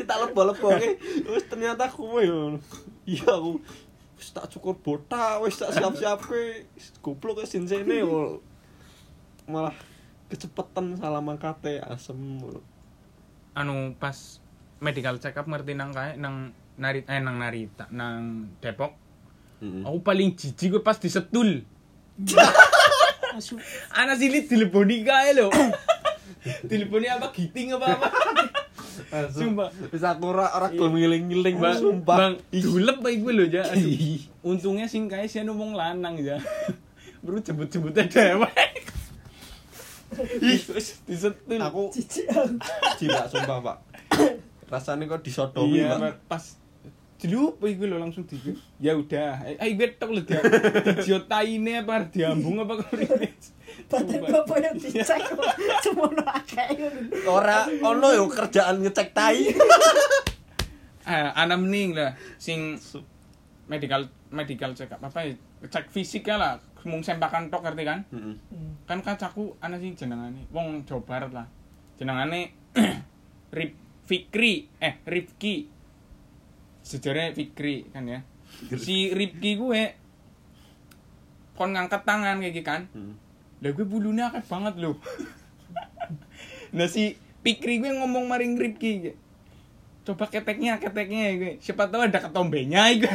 tak lebok-leboke. Wis ternyata kowe yo. Iya aku wis tak cukur botak, wis tak siap-siape. Goblok wis sinsene malah kecepetan salah mangkate asem. Anu pas medical check up ngerti nang kae nang Narit eh nang Narita nang Depok. Heeh. Aku paling jijik gue pas disetul. Asu. Ana silit dileboni kae lho. Dileboni apa giting apa apa. Sumpah. Wis aku ora ora gelem ngiling-ngiling Bang, sumpah. Bang, dulep bae gue lho ya. Aduh. Untungnya sing kae sih ngomong lanang ya. Bro jembut-jembutnya dewek. Ih, wis disetul. Aku Jijik aku. jilak sumpah, Pak. Rasane kok disodomi, Iya, Pak. pas jelup gue lo langsung di ya udah ayo gue tok lo dia dijiotaine apa diambung apa kene Badan bapak yang dicek kok semono akeh. Ora ono yo kerjaan ngecek tai. ah ana mending lah sing medical medical check up apa ya cek fisik ya lah mung sempakan tok ngerti kan Heeh. kan kacaku ana sing jenengane wong Jawa Barat lah jenengane Rip Fikri eh Rifki sejarah Fikri kan ya si Rifki gue kon ngangkat tangan kayak gitu kan Heeh. lah gue bulunya akeh banget loh nah si Fikri gue ngomong maring Rifki coba keteknya keteknya gue siapa tahu ada ketombenya gue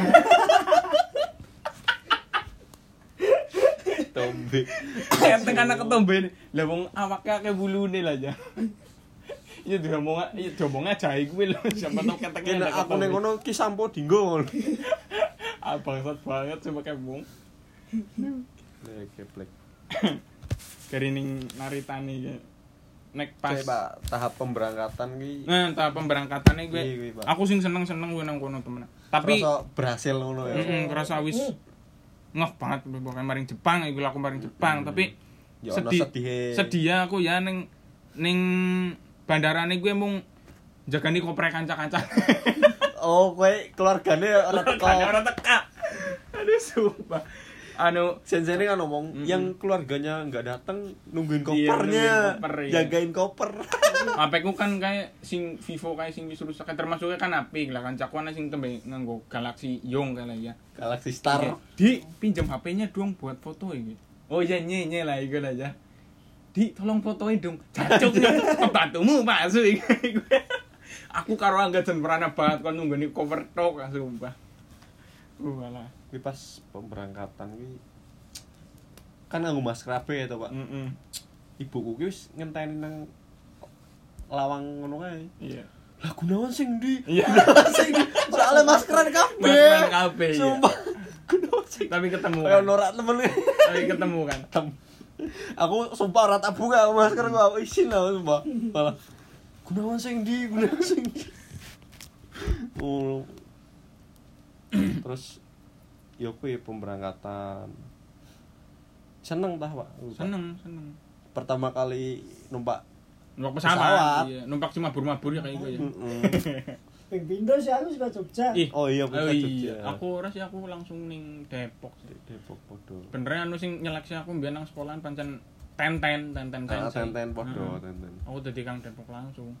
Tombe. ketek anak ketombe lah wong awaknya akeh bulune lah aja iya diomong iya diomongnya jahe gue loh siapa tahu keteknya Kena ada aku ning ketombe ngono ki sampo dinggo. ah bangsat banget coba kayak bung Nek keplek. dari ning Naritani ya nek pas Pas Pak tahap pemberangkatan ki nah tahap pemberangkatannya gue Iya, iya, Pak. aku sing seneng seneng gue nang kono temen tapi rasa berhasil ngono ya. heeh kerasa wis ngeh banget pokoknya maring Jepang iku aku maring Jepang tapi Ya ono sedih sedihe. sedih aku ya ning ning bandarane gue mung jagani koprek kanca-kanca Oh, kowe keluargane ora teko. ora teka aduh sumpah anu Sensei kan ngomong Mm-mm. yang keluarganya nggak datang nungguin Iya, kopernya, nungguin koper, iya. jagain koper. apeku kan kayak sing Vivo kayak sing wis rusak termasuknya kan apik lah kan cakuan sing tembe nganggo Galaxy Young kali ya Galaxy Star. Iya. Di pinjam H P-nya dong buat foto ini. Oh iya nye nye lah iku aja. Di tolong fotoin dong. Cacuk pembantumu Pak Su. Aku karo angga jan merana banget kon nunggoni cover tok sumpah. Walah. Kuwi pas pemberangkatan kuwi kan nganggo masker kabeh to, Pak. Heeh. Ibuku ki wis ngenteni nang lawang ngono kae. Iya. Lah Gunawan sing ndi? Iya. Sing ndi? Soale maskeran kabeh. Maskeran kabeh, iya. Sumpah. Gunawan sing. Tapi ketemu. Kayak Kan? norak temen. Tapi ketemu kan. Aku sumpah ora tak buka masker gua isin lah sumpah. Malah Gunawan sing ndi? Gunawan sing ndi? Oh. Terus ya kuwi pemberangkatan. Seneng tah, Pak. Seneng, seneng. Pertama kali numpak Numpak Pesawat. pesawat. Iya, numpak cuma mabur-mabur ya kayak gue ya. Heeh. Ping pindho sih aku suka Jogja. Ih, Oh iya, oh bukan iya. Jogja. Aku ora sih aku langsung ning Depok sih. Depok podo. Bener anu sing nyeleksi aku mbiyen nang sekolahan pancen tenten tenten Ah, sensei. tenten podo, Heeh. tenten. Aku dadi Kang Depok langsung.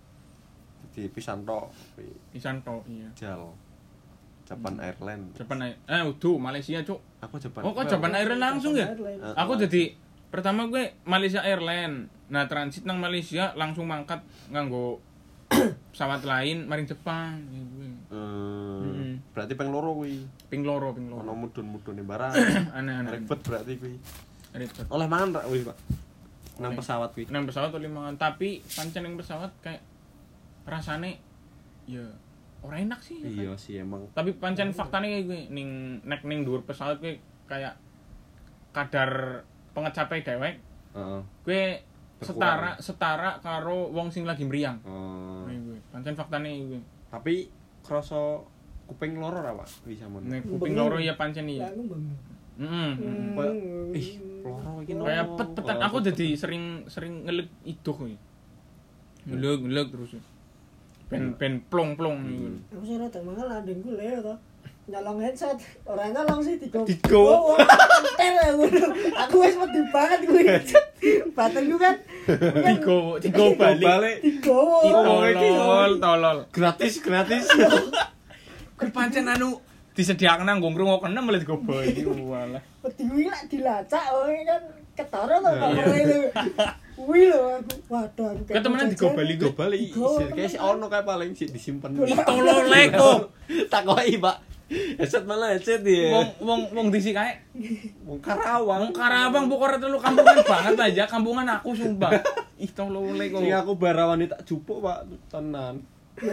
Di pisan tok kuwi Pisan tok iya. jal. Japan Airline. Japan Air eh udah Malaysia, Cuk. Aku Japan. Oh, kok Japan Airline langsung ya? Airline. Ah. Aku jadi pertama gue Malaysia Airline. Nah, transit nang Malaysia langsung mangkat nganggo pesawat lain maring Jepang gitu. Hmm. Mm-mm. Berarti peng loro kuwi. Ping loro, ping Ono loro. mudun-mudune barang. Aneh-aneh. Ribet berarti kuwi. Ribet. Oleh mangan ra kuwi, Pak? Nang Oleh. pesawat kuwi. Nang pesawat oleh mangan, tapi pancen ning pesawat kayak rasane ya ora enak sih. Iya sih emang. Tapi pancen faktane kayak gue ning nek ning dhuwur pesawat gue kayak kadar pengecapai dewek Heeh. gue setara Berkurang. setara karo wong sing lagi meriang. Oh. Nih gue pancen faktane gue. Tapi krasa kuping loro ra, Pak? Bisa mon. Nek kuping loro ya pancen iya. Lah, aku bengong. Heeh. Kayak, ih, loro iki loro. Kayak pet-petan aku jadi sering sering ngelek iduh kuwi. Ngelek ngelek terus. Ben ben plong-plong gitu. Aku sih rada mangan adengku leo to. nyolong headset, ora nyolong sih digo. Digo. Ter ngono. Aku wis wedi banget kuwi headset. Batengku kan Digo, digo balik. digowo. Tolol, tolol. Gratis, gratis. Kuwi pancen anu disediakan nang nggo ngrungokne malah digo bali. Walah. Wedi kuwi lak dilacak wae kan ketara to kamare. Kuwi lho aku. Waduh aku. Ketemenan digo bali Digo bali. Kayak si ono kae paling sik disimpen. Tolol leko. Takoki, Pak. Headset malah headset ya. Wong wong wong disi kae. Wong Karawang. Wong Karawang pokoknya telu kampungan banget aja, kampungan aku sumpah. Ih tolol leko. Sing aku barawani tak jupuk, Pak, tenan.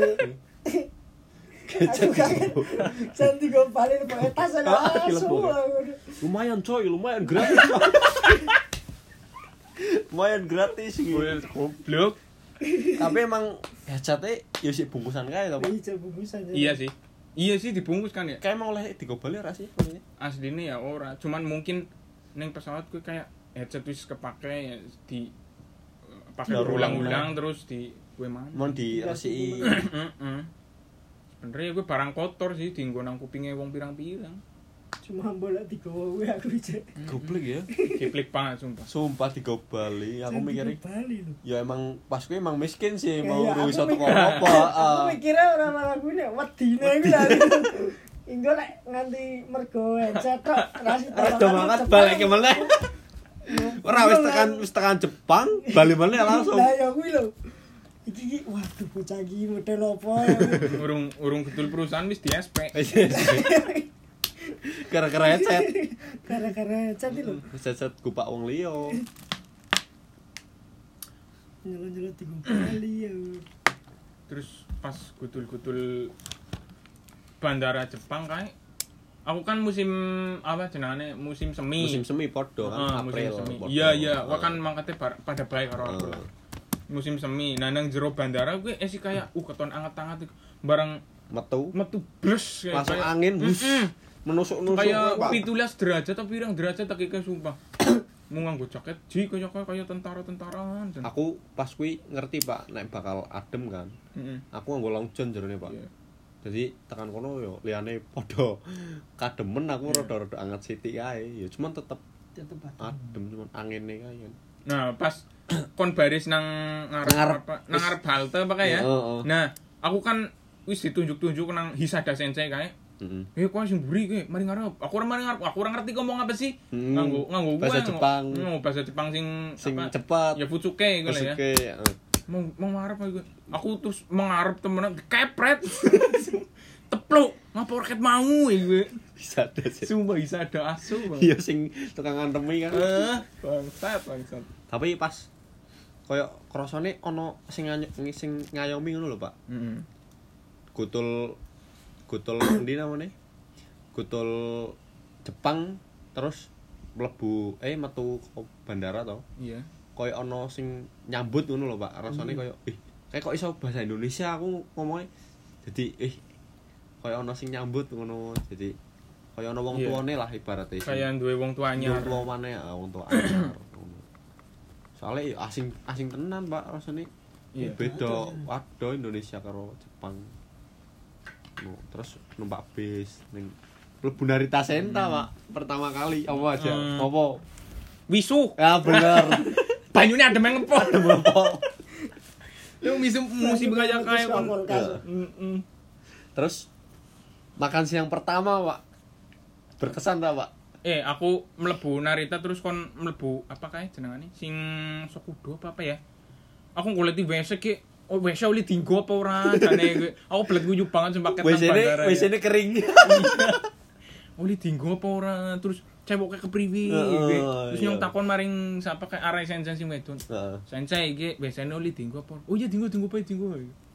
Aku kaget. Sen digo bali pakai tas Ah, ana. dilebur. Lumayan coy, lumayan gratis. Coy. Lumayan gratis gitu. Goblok. Tapi emang headsetnya ya sih bungkusan kae to, Pak. Iya bungkusan. Iya sih. Iya sih dibungkus kan ya. Kayak emang oleh digobali ora sih? Asline ya ora, cuman mungkin ning pesawat kuwi kayak headset wis kepake ya di pakai Daur berulang-ulang terus di kuwi mana. Mau diresiki. Heeh. Sebenarnya gue barang kotor sih dienggo nang kupinge wong pirang-pirang. Cuma bolak digowo kuwi aku cek. Goblok ya. Kiplek banget sumpah. Sumpah digobali, aku mikirnya Bali lho. ya emang pas gue emang miskin sih, mau Iya, duwe aku iso teko mikir- apa. Aku mikirnya ora malah kuwi nek wedine kuwi lali. Inggo nek nganti mergo headset tok rasi Rada banget balik meneh. Ora wis tekan wis tekan Jepang, bali meneh langsung. Lah ya kuwi lho. Iki iki waduh bocah iki model apa ya. Urung urung gedul perusahaan wis di S P. Gara-gara headset. Gara-gara headset iki lho. Headset gupak wong liya. Nyelot-nyelot di Bali ya. Terus pas gudul-gudul bandara Jepang kae aku kan musim apa jenenge musim semi. Musim semi podo kan Heeh, musim April. semi. podo. Iya iya, gua kan mangkate bar- pada baik karo aku. Heeh. Musim semi. Nah nang jero bandara gue eh sih kayak uh keton anget-anget bareng metu metu blus kayak langsung kayak- angin bus Mm-mm. menusuk-nusuk kayak Pak. pitulas derajat tapi pirang derajat tak iki sumpah. Mau nganggo jaket ji kaya kaya tentara-tentaraan. Aku pas kuwi ngerti Pak nek bakal adem kan. Heeh. Aku nganggo long john jerone Pak. Iya. Jadi tekan kono yo liyane padha kademen aku Iya. rada-rada anget sithik kae. Ya cuman tetep Tetep adem cuman angine kae kan. Nah, pas kon baris nang ngarep Ngarep. apa? Nang ngarep halte apa kae ya. Heeh. Nah, aku kan wis ditunjuk-tunjuk nang Hisada Sensei kae. Heeh. Eh, kok sing mburi kowe, mari ngarep. Aku ora mari ngarep. Aku ora ngerti ngomong apa sih. Hmm. Nganggo nganggo gue, Bahasa nganggo- Jepang. Nganggo bahasa Jepang sing Sing apa? cepat. Ya fucuke iku lah ya. Oke, heeh. Mau mau ngarep aku. Aku terus mengarep temenan kepret. Tepluk, ngapa raket mau iku. Bisa ada sih. Sumpah bisa ada asu, Bang. Iya sing tukang ngantemi kan. Eh, bangsat, bangsat. Tapi pas koyo krasane ana sing nganyo- sing ngayomi ngono lho, Pak. Heeh. Gutul gutul endi namanya? Gutul Jepang terus mlebu eh metu ke bandara to. Iya. Koyo ana sing nyambut ngono lho, Pak. Rasane koyo ih, kayak kok iso bahasa Indonesia aku ngomongnya. Jadi eh koyo ana sing nyambut ngono. Jadi koyo ana wong Iya. tuane lah ibaratnya. Kayak duwe wong tuanya. Wong tua maneh, ah, wong tua anyar. Ngono. Soale ya asing asing tenan, Pak, rasane. Iya. Beda waduh Indonesia karo Jepang. No, terus numpak bis ning mlebu Narita Senta, Pak. Pertama kali apa aja? Hmm. Apa? Wisu. Ya bener. Banyune adem yang ngepot. Apa? Lu musim musim kayak kayak kon. Ya. Heeh. Terus makan siang pertama, Pak. Berkesan ta, Pak? Eh, aku mlebu Narita terus kon mlebu apa kae jenengane? Sing Sokudo apa apa ya? Aku golek di W C ki, oh W C oli dinggo apa ora? Jane gue. Aku belet guyu banget sumpah ket W nang C-ne bandara. W C-ne kering. Oli dinggo apa ora? Terus cewek kepriwi Heeh, iki. Terus iya. nyong takon maring sapa kae arek sensei sing wedon. Heeh. Sensei iki W C-ne oli dinggo apa? Oh iya dinggo dinggo bae dinggo.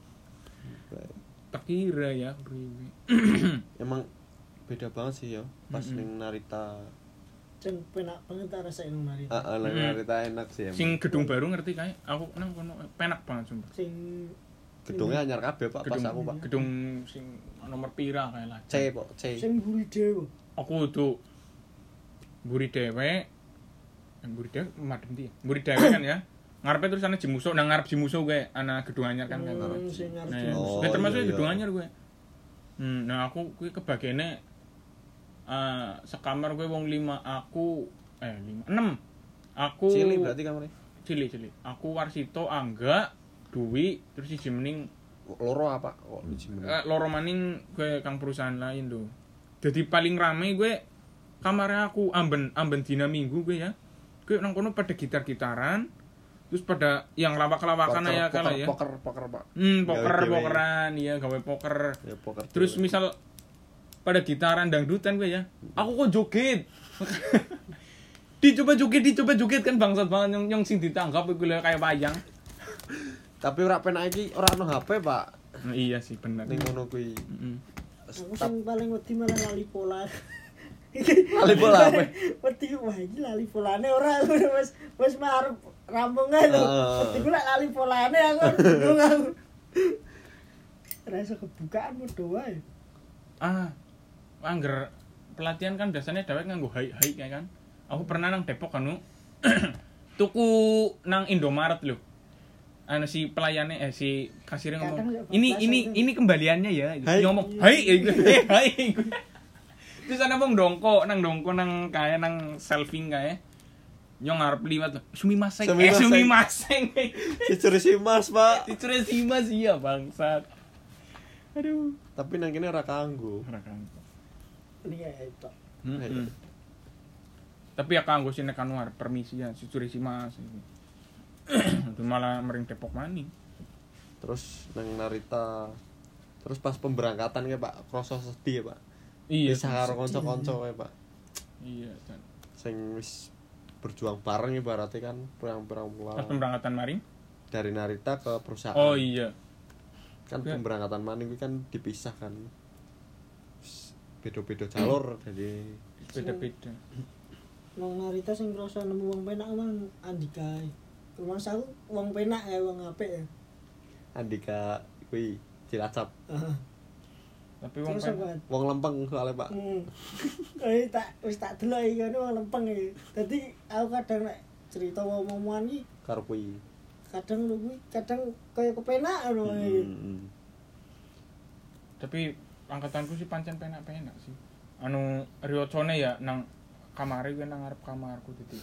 Tak kira ya priwi. Emang beda banget sih ya pas Mm-mm. ning Narita. Sing penak banget ta rasane nang mari. Heeh, ning Mm. Narita enak sih emang. Sing gedung baru ngerti kae? Aku nang kono penak banget sumpah. Sing Gedungnya anyar kabeh, Pak, pas Gedung aku, Pak. gedung sing nomor pira kae lah. C, Pak, C. sing buri dewe. Aku tuh mburi dhewe mburi dhewe madem ndi ya mburi dhewe kan ya ngarepe terus ana Jimuso nang ngarep Jimuso gue ana gedung anyar kan kan Hmm, sing ngarep nah, Jimuso. gue termasuk Oh, iya, gedung iya. anyar gue Hmm, nah aku kuwi kebagiane uh, sekamar kuwi wong lima, aku eh lima, enam. Aku Cilik berarti kamarnya. Cilik-cilik. Aku Warsito, Angga, Dwi, terus siji mening Loro apa? Oh, biji meneh. uh, loro maning gue kang perusahaan lain lho. Jadi paling rame gue kamarnya aku amben amben dina Minggu gue ya. Gue nang kono pada gitar-gitaran. Terus pada yang lawak-lawakan ya kala ya. Poker, poker, Pak. Hmm, poker, Gawe-gawe. pokeran, iya gawe poker. Ya poker. Terus misal pada gitaran dangdutan gue ya. Aku kok joget. dicoba joget, dicoba joget kan bangsat banget yang yang sing ditanggap iku lho kayak wayang. Tapi ora penak iki ora ono H P, Pak. Nah, iya sih bener. Ning ngono kuwi. Heeh. Aku sing paling wedi malah lali pola. Lali pola apa? Wedi wah iki lali polane ora wis wis marep rampung ae lho. Heeh. Wedi ku lek lali polane aku bingung aku. Ora iso kebukaan modho wae. Ah, angger pelatihan kan biasanya dewek nganggo hai-hai kayak kan. Aku pernah nang Depok anu tuku nang Indomaret lho. Anu si pelayannya eh si kasirnya Kadang ngomong, ya, "Ini bablas ini itu." ini kembaliannya ya." Gitu. Hai. Dia ngomong, "Hai." Eh, hai. Terus ana wong dongko nang dongko nang kaya nang selfing kaya. Nyong arep liwat lho. Sumimasen. Eh Sumimasen. sumimasen. Dicuri si Mas, Pak. Dicure simas iya bangsat. Aduh. Tapi nang kene ora kanggo. Ora kan. Iya itu. Hmm. Tapi ya kanggo sine Kanwar permisi ya dicure simas. Itu malah mering Depok maning. Terus nang Narita. Terus pas pemberangkatan ya, Pak, kroso sedih ya, Pak. Iya. Bisa karo kanca-kanca ya, Pak. Iya, kan. Sing wis berjuang bareng ibaratnya kan perang-perang Pas pulang pemberangkatan maring. dari Narita ke perusahaan. Oh iya. Kan Ya. pemberangkatan maning kuwi kan dipisah kan. Wis beda-beda jalur jadi Beda-beda. Nang Narita sing krasa nemu wong penak mang Andika. Rumah aku wong penak ya wong apik ya. Andika kuwi Cilacap. Heeh. Tapi wong Terus pen- apa? Wong lempeng soalnya, Pak. Hmm. Eh tak wis tak delok iki ngono wong lempeng iki. Dadi aku kadang nek cerita wong-wongan iki Karo kuwi. kadang lu kuwi kadang kaya kepenak ngono iki. Hmm. tapi angkatanku sih pancen penak-penak sih. Anu riocone ya nang kamare kuwi nang ngarep kamarku dadi.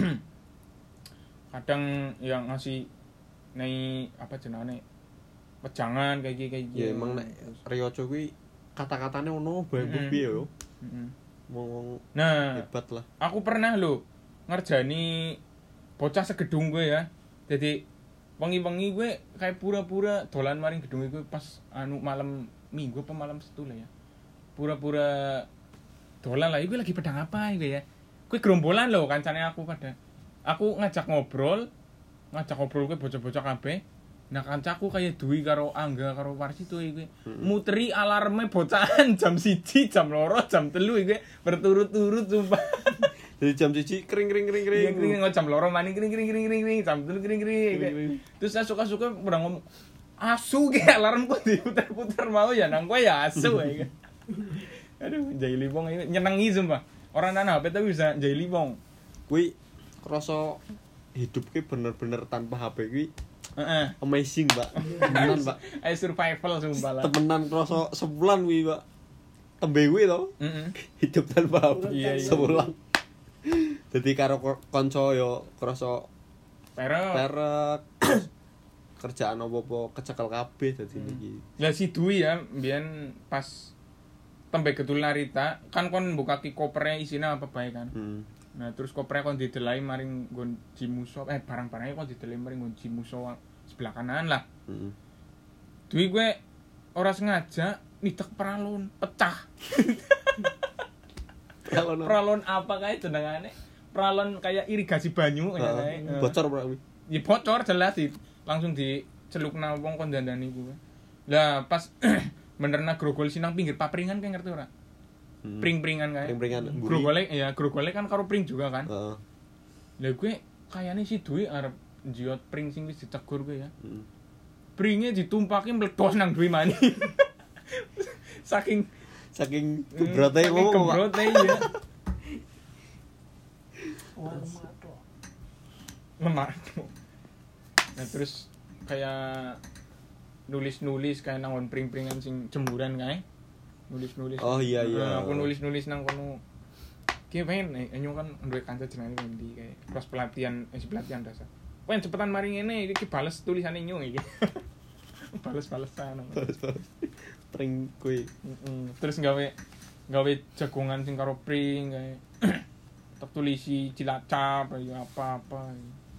Kadang yang ngasih nei apa jenenge wejangan kayak gini kayak gini. Ya emang nek Rioco kuwi kata-katane ono bae Mm-mm. piye yo. Mm-mm. Wong Nah, hebat lah. aku pernah lho ngerjani bocah segedung gue ya. Jadi wengi-wengi gue kayak pura-pura dolan maring gedung gue pas anu malam Minggu apa malam Sabtu lah ya. Pura-pura dolan lah, gue lagi pedang apa gue ya. Gue gerombolan lho kancane aku pada. Aku ngajak ngobrol, ngajak ngobrol gue bocah-bocah kabeh. Nah kancaku kayak Dwi karo Angga karo Warsito gue. Muteri alarme bocahan jam siji, jam loro, jam telu gue berturut-turut sumpah. Jadi jam siji kring kring kring kring. Kring kring kring jam loro maning kring kring kring kring kring jam telu kring kring. Terus saya suka-suka pernah ngomong asu ge alarm kok diputar-putar mau ya nang kowe ya asu ya. Aduh, jahili wong ini nyenengi sumpah. Orang nana H P tapi bisa jahili wong. Kuwi krasa hidup ki bener-bener tanpa H P kuwi Heeh. amazing, Pak. Temenan, Pak. Ayo survival sumpah lah. Temenan krasa sebulan kuwi, Pak. Tembe kuwi to. Heeh. Hidup tanpa H P. Iya, iya. Sebulan. Jadi karo ko- kanca yo krasa Pero perek. Kerjaan apa-apa kecekel kabeh dadi iki. lah si Dwi ya mbiyen pas tembe gedul Narita kan kon buka ki kopernya isine apa bae kan. Hmm. Nah terus kopernya kon didelai maring nggon Jimuso eh barang-barangnya kon didelai maring nggon Jimuso sebelah kanan lah. Heeh. Dwi gue ora sengaja nitek peralon pecah. Kalau no. Peralon apa kayak jenengane? Peralon kayak irigasi banyu kayak Heeh. kayak. Bocor Pak kuwi. Ya bocor jelas sih. Langsung dicelukna wong kon dandani kuwi. Lah pas benerna grogol sinang pinggir papringan kayak ngerti ora? Hmm. Pring-pringan kayak. Pring-pringan mburi. Grogole ya grogole kan karo pring juga kan. Heeh. Lah gue kayaknya si Dwi arep jiot pring sing wis ditegur gue ya. Heeh. Pringnya ditumpaki meledos nang Dwi mani. Saking Saking gebrote saking ngomong, Pak. gebrote ya. Wah, mato. Lemah. Nah terus kayak nulis-nulis kayak nangon pring-pringan sing jemuran kae. nulis-nulis. Oh, iya, iya. Nah, aku nulis-nulis nang kono. Ki pengen eh nyong kan duwe kanca jenenge Wendy kayak pas pelatihan eh pelatihan dasar. Pengen cepetan mari ngene iki bales tulisane nyong iki. Bales-balesan. Bales-bales. Pring kuwi. Heeh. Terus gawe gawe jagongan sing karo pring kayak tak tulisi Cilacap ya apa-apa.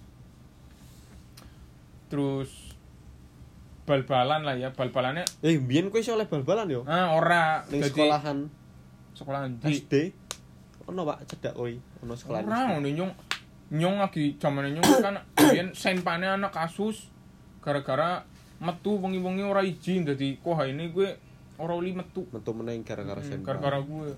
Terus bal-balan lah ya, bal-balannya Eh, biyen kowe iso oleh bal-balan yo. ah ora Ning dadi sekolahan sekolahan S di D. Ono Pak cedak kowe, ono sekolah. ora ngono nyong nyong lagi zamane nyong kan biyen senpane anak kasus gara-gara metu wengi-wengi ora izin dadi kok ini gue ora uli metu Metu meneng gara-gara Hmm, senpa. gara-gara gue.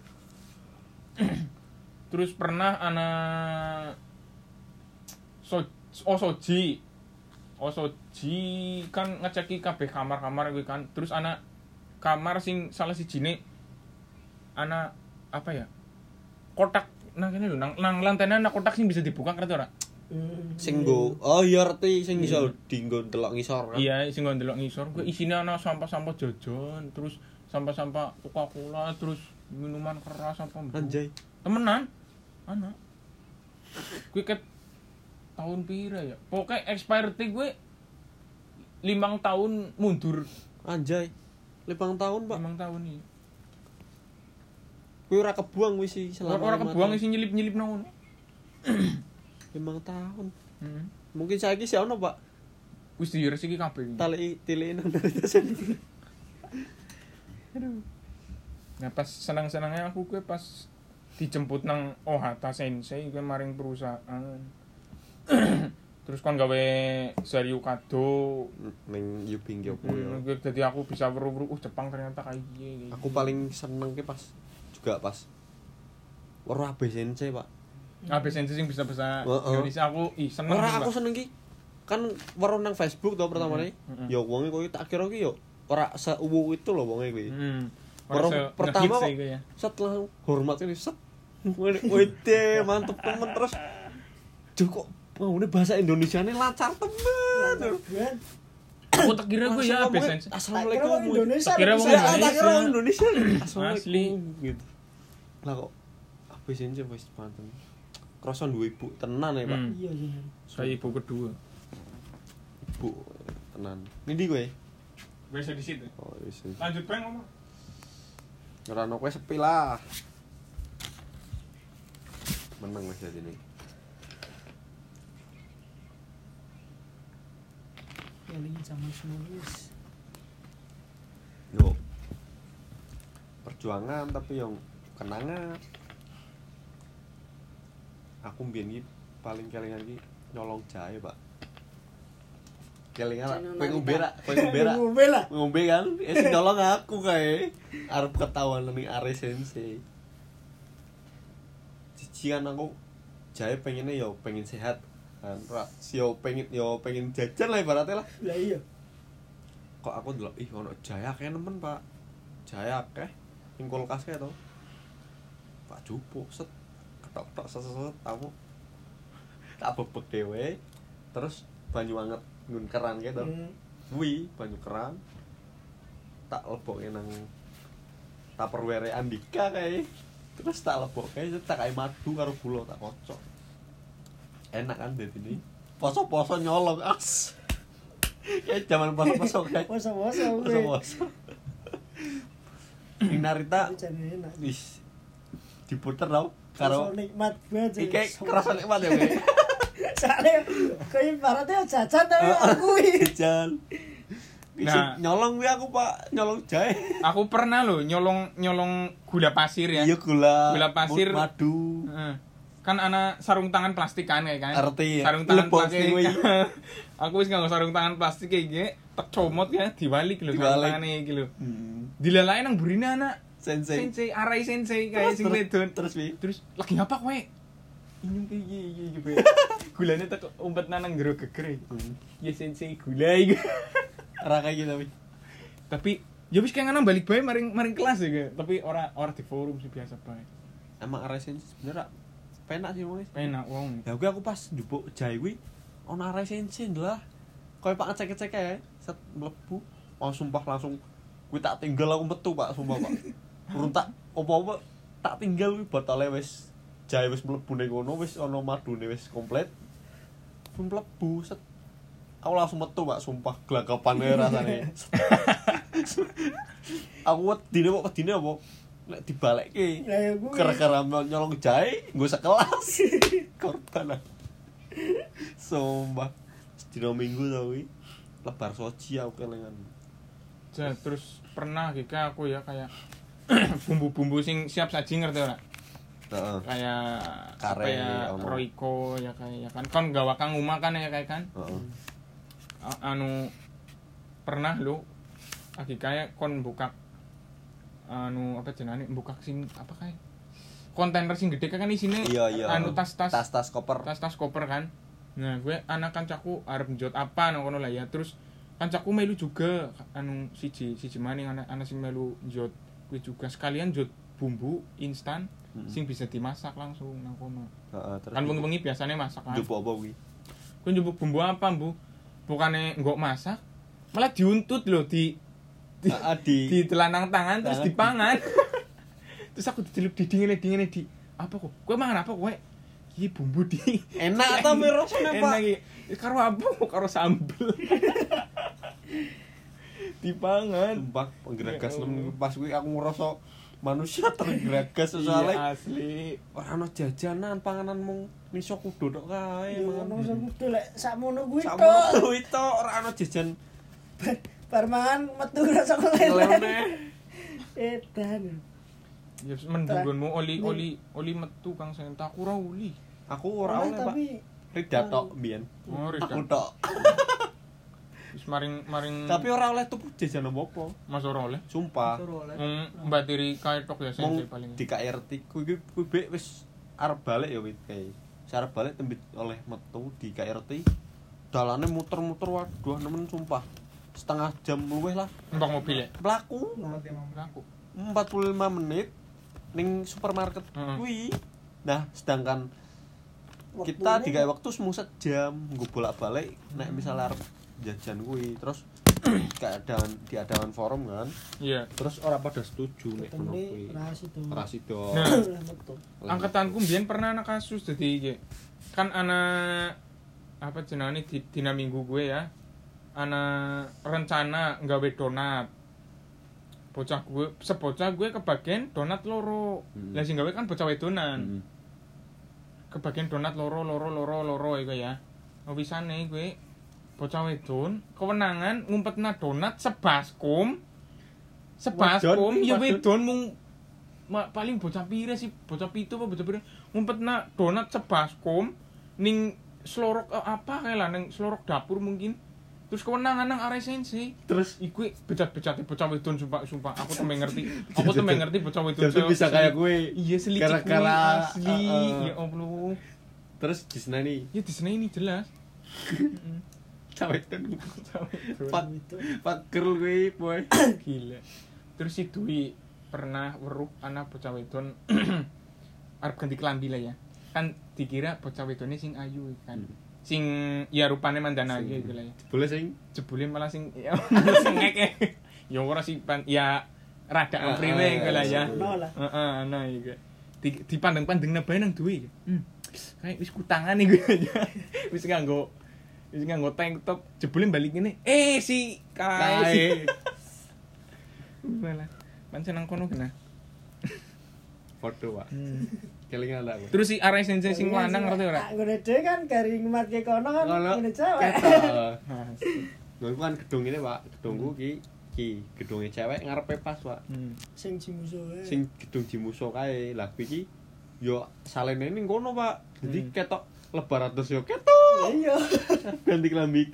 Terus pernah anak so Osoji Osoji kan ngeceki kabeh kamar-kamar kuwi kan. Terus anak kamar sing salah sijine anak apa ya? Kotak nang kene lho nang nang lantainya anak kotak sing bisa dibuka ngerti ora? Hmm. Sing nggo, oh iya ngerti sing iso dienggo delok ngisor kan. Iya, sing nggo ndelok ngisor kuwi isine ana sampah-sampah jajan, terus sampah-sampah Coca-Cola, terus minuman keras apa mbok. Anjay. Temenan ana kuwi ket tahun pira ya pokoknya expired gue limang tahun mundur Anjay. Limang tahun, Pak. limang tahun ini Kuwi ora kebuang wis sih selama. orang lima kebuang tahun. isi nyelip-nyelip nang Limang tahun. heeh Mungkin saiki sih ono, Pak. wis diresiki kabeh Tali tili nang dari tasen. nah pas senang-senangnya aku gue pas dijemput nang Ohata Sensei gue maring perusahaan terus kon gawe seriu kado Ning Yubing Yopo hmm, yo. gue jadi aku bisa weruh-weruh uh Jepang ternyata kayak gini Aku paling seneng ki pas juga pas weruh A B Sensei, Pak. Abe Sensei sing bisa bahasa Heeh. Indonesia aku ih seneng Ora juga. aku seneng ki. Kan weruh nang Facebook to pertamane. Mm-hmm. Ya wonge kowe tak kira ki yo ora seuwu itu lho wonge kuwi. Hmm. Baru Orang pertama kok ya. setelah hormat ini set wede mantep temen terus Duh kok mau ini bahasa Indonesia ini lancar temen Buat Aku tak kira gue ya Langsung Abe ngomongnya, Sensei. Assalamualaikum Tak kira Indonesia, Tak kira bisa. wong Ya, tak kira Indonesia. orang Indonesia Assalamualaikum Asli. gitu. Lah kok Abe Sensei wis mantep Kroso duwe ibu tenan ya, Pak. Hmm. iya iya. Saya ibu kedua. Ibu tenan. Nindi kowe? Biasa di situ. Oh, wis. Lanjut bang ngomong. Ora ono kowe sepi lah. Menang wis jadi nih. Eling zaman semonis. Yo. Perjuangan tapi yang kenangan. Aku mbiyen iki paling kelingan iki nyolong jahe, Pak. Kelingan Jangan kowe ngombe ra, kowe ngombe ra. Ngombe lah. Ngombe kan, eh sing nyolong aku kae. Arep ketahuan ning Are Sensei. Cici kan aku jahe pengennya yo pengen sehat. Kan ra yo pengen yo pengen jajan lah ibaratnya lah. Lah iya. Kok aku ndelok ih ono jahe akeh nemen, Pak. Jahe akeh ning kulkas kae to. Pak jupuk set ketok-tok seset aku tak bebek dhewe terus banyu anget nggon keran kae to. Hmm. Kuwi banyu keran tak lebokke nang Tupperware Andika kae. Terus tak lebokke tak kae madu karo gula tak kocok. Enak kan dadi poso-poso nyolong as. Kayak zaman poso-poso kayak Poso-poso kuwi. poso-poso. Ing Narita Iki jane enak. wis diputer tau Karo karo nikmat banget. iki kerasa nikmat ya kowe. Soale kowe ibaratnya jajan tapi aku kuwi. Jajan. Nah. Nah, nyolong kuwi aku, Pak, nyolong jahe. Aku pernah loh nyolong nyolong gula pasir ya. Iya gula. Gula pasir. Madu. Heeh. Kan ana sarung tangan plastik kan kayak kan. Ngerti, ya. Sarung tangan Lebos plastik. kuwi. Aku wis nganggo sarung tangan plastik kayak gini, tak comot ya diwalik lho sarung Diwalik. tangane iki lho. Hmm. Dilalai nang burine anak Sensei. Sensei, arai Sensei kayak sing Terus- wedon. Terus pi. Terus lagi apa kowe? Inyung kayak iki iki iki. Be. Gulane tak umpet nang jero geger. Hmm. Ya Sensei gula iki. Ora kayak gitu tapi. Tapi ya wis kayak ngono balik bae maring maring kelas ya. Kayak. Tapi ora ora di forum sih biasa bae. Emang arek Sensei sebenarnya penak sih wong. Penak wong. Ya kuwi aku pas njupuk jahe kuwi ono arek Sensei lah. Koyo Pak ngecek-ngecek ae, set mlebu. Oh sumpah langsung kuwi tak tinggal aku metu, Pak, sumpah, Pak. urung tak apa-apa tak tinggal kuwi botole wis jahe wis mlebu ning kono wis ana madune wis komplit. Mlebu set. Aku langsung metu Pak, sumpah glagapane rasane. Aku wedine kok wedine apa? Nek dibalekke. Lah ya kuwi. Gara-gara nyolong jahe nggo sekelas. Korban. Sumpah. Sedina minggu to kuwi. Lebar soji aku kelingan. Ja, terus pernah gitu aku ya kayak bumbu-bumbu sing siap saji ngerti ora? Heeh. Kayak Kare, apa ya ono. Royco ya kayak ya kan kon gawa kang umah kan ya kayak kan. Heeh. A- anu pernah lu lagi kayak kon buka anu apa jenenge buka sing apa kayak kontainer sing gede kan isine Iya iya. anu tas-tas tas-tas koper. tas-tas koper kan. Nah, gue anak kancaku arep njot apa nang kono lah ya. Terus kancaku melu juga anu siji siji maning anak anak sing melu njot kuwi juga sekalian njot bumbu instan Hmm. sing bisa dimasak langsung nang kono. Heeh, terus. Kan wengi-wengi biasanya masak kan. Njupuk apa kuwi? Gue njupuk bumbu apa, Bu? Bukannya nggak masak, malah diuntut loh di di, Heeh, di di telanang tangan terus Tangan. dipangan. Terus aku dicelup di dingin dingin di apa kok? Gue mangan apa kowe? Iki bumbu di enak ta mirosne, Pak? enak iki. Karo apa? Karo sambel. Dipangan. Sumpah penggeregas Ya Allah. nem pas kuwi aku ngerasa manusia tergeregas Iya, soalnya asli. ora ono jajanan panganan mung miso kudu tok kae Ya mangan. ono sing kudu lek sakmono kuwi Sakmono tok. kuwi tok ora ono jajan Bar mangan metu rasa lele. lele. Edan. Ya mendunggonmu oli oli oli metu Kang Senta aku ora uli. Aku ora oleh, Pak. Tapi Rida tok mbiyen. Oh, Rida. Aku tok. Wis maring maring Tapi ora oleh tuku jajan apa-apa. Mas ora oleh. Sumpah. suruh oleh. Hmm, Mbak Tiri kae tok ya Mung sensei paling. di K R T kuwi kuwi kuwi bek wis arep balik ya wit kae. Arep balik tembit oleh metu di K R T. Dalane muter-muter waduh nemen sumpah. Setengah jam luwih lah. Mbak mobil ya. Mlaku Aku. empat puluh lima menit ning supermarket Heeh. kuwi. Nah, sedangkan kita digawe waktu semu sejam nggo bolak-balik nek misalnya arep jajan kuwi terus keadaan diadakan forum kan. Iya. Terus ora pada setuju nek ngono kuwi. Ketemu ras itu. Ora sido. Nah. Lah metu. Angkatanku mbiyen pernah ana kasus jadi iki. Kan ana apa jenenge di dina minggu gue ya. Ana rencana nggawe donat. Bocah gue, sebocah gue kebagian donat loro. Hmm. Lah sing gawe kan bocah wedonan. Hmm. Kebagian donat loro loro loro loro iku ya. Wisane gue bocah wedon kewenangan ngumpetna donat sebaskom. Sebaskom Wedon, ya wedon. wedon mung ma, paling bocah pire sih, bocah pitu apa bocah pire ngumpetna donat sebaskom ning slorok eh, apa kayak lah ning slorok dapur mungkin. Terus kewenangan nang arek sensei. Terus Iku becat-becate bocah wedon sumpah sumpah aku temen ngerti. Aku temen ngerti bocah wedon. jadi bisa kayak gue. Iya selicik Gara-gara, kuwi, asli. uh, uh. Ya Allah. Terus di sana nih Ya di sini ini jelas. sampai kan Pak pak pak girl gue boy. gila. Terus si Dwi pernah weruh anak bocah wedon arep ganti kelambi lah ya. Kan dikira bocah wedone sing ayu kan. Sing ya rupane mandana ayu gitu lah ya. Boleh sing Jebule malah sing ya sing ngeke. Ya ora sih pan ya rada Ah, ampriwe ah, iku lah ya. Ono lah. Heeh, ana iku. Di dipandang-pandangna bae nang Dwi. Hmm. Kayak wis kutangan iku aja. Wis nganggo wis nganggo tank top jebule balik ngene. Eh si kae. kae. Malah pancen nang kono kena. Foto, Pak. Hmm. Kelingan aku. Terus si arek sensei sing lanang ngerti ora? Nak ngene dhewe kan garing matke kono kan Ngono. ngene cewek. Ketok. Nah, Gue kan gedung ini, Pak. Gedungku ki ki gedungnya cewek ngarepe pas, Pak. hmm. Sing jimuso wae. Sing gedung Jimuso kae. Lah kuwi ki yo salene ning kono, Pak. Jadi Hmm. ketok lebar atus yo ketok. Iya. Ganti kelambi.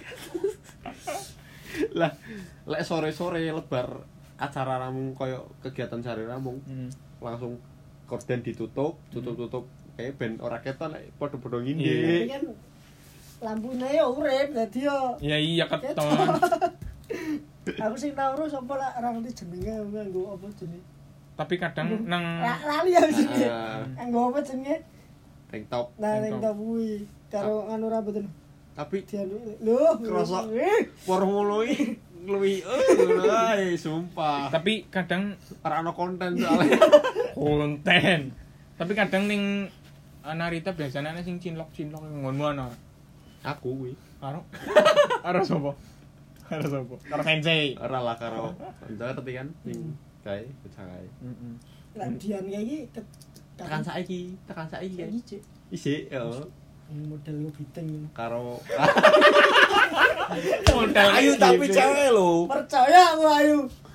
Lah, lek sore-sore lebar acara ramung koyo kegiatan sehari ramung Hmm. langsung korden ditutup, tutup-tutup kayak ben ora ketok lek padha-padha Tapi ngindek. kan lampune ya urip dadi yo. Ya iya keton. Aku sing tau urus apa lah ora ngerti jenenge nganggo apa jenenge. Tapi kadang nang Ra- Lali ya jenenge. Ah, Nganggo apa jenenge? tank top. Nah, Tank ning top. top kuwi karo anu rambut lho. Tapi Dianu lho. Kerasa. eh, warung ngono iki luwi ngono ae sumpah. Tapi kadang Ora ono konten soalnya. konten. Tapi kadang ning Narita biasanya ana sing cinlok-cinlok ngono ana. Aku kuwi. Karo karo sapa? Karo sapa? Karo sensei. Ora lah karo kanca tapi kan sing kae bocah kae. Heeh. Lah Dian kayak iki Tekan saiki, tekan saiki kae. iki Cik. Isik yo Model kepiting. karo Modal ayu tapi cewek lho. Percaya aku ayu.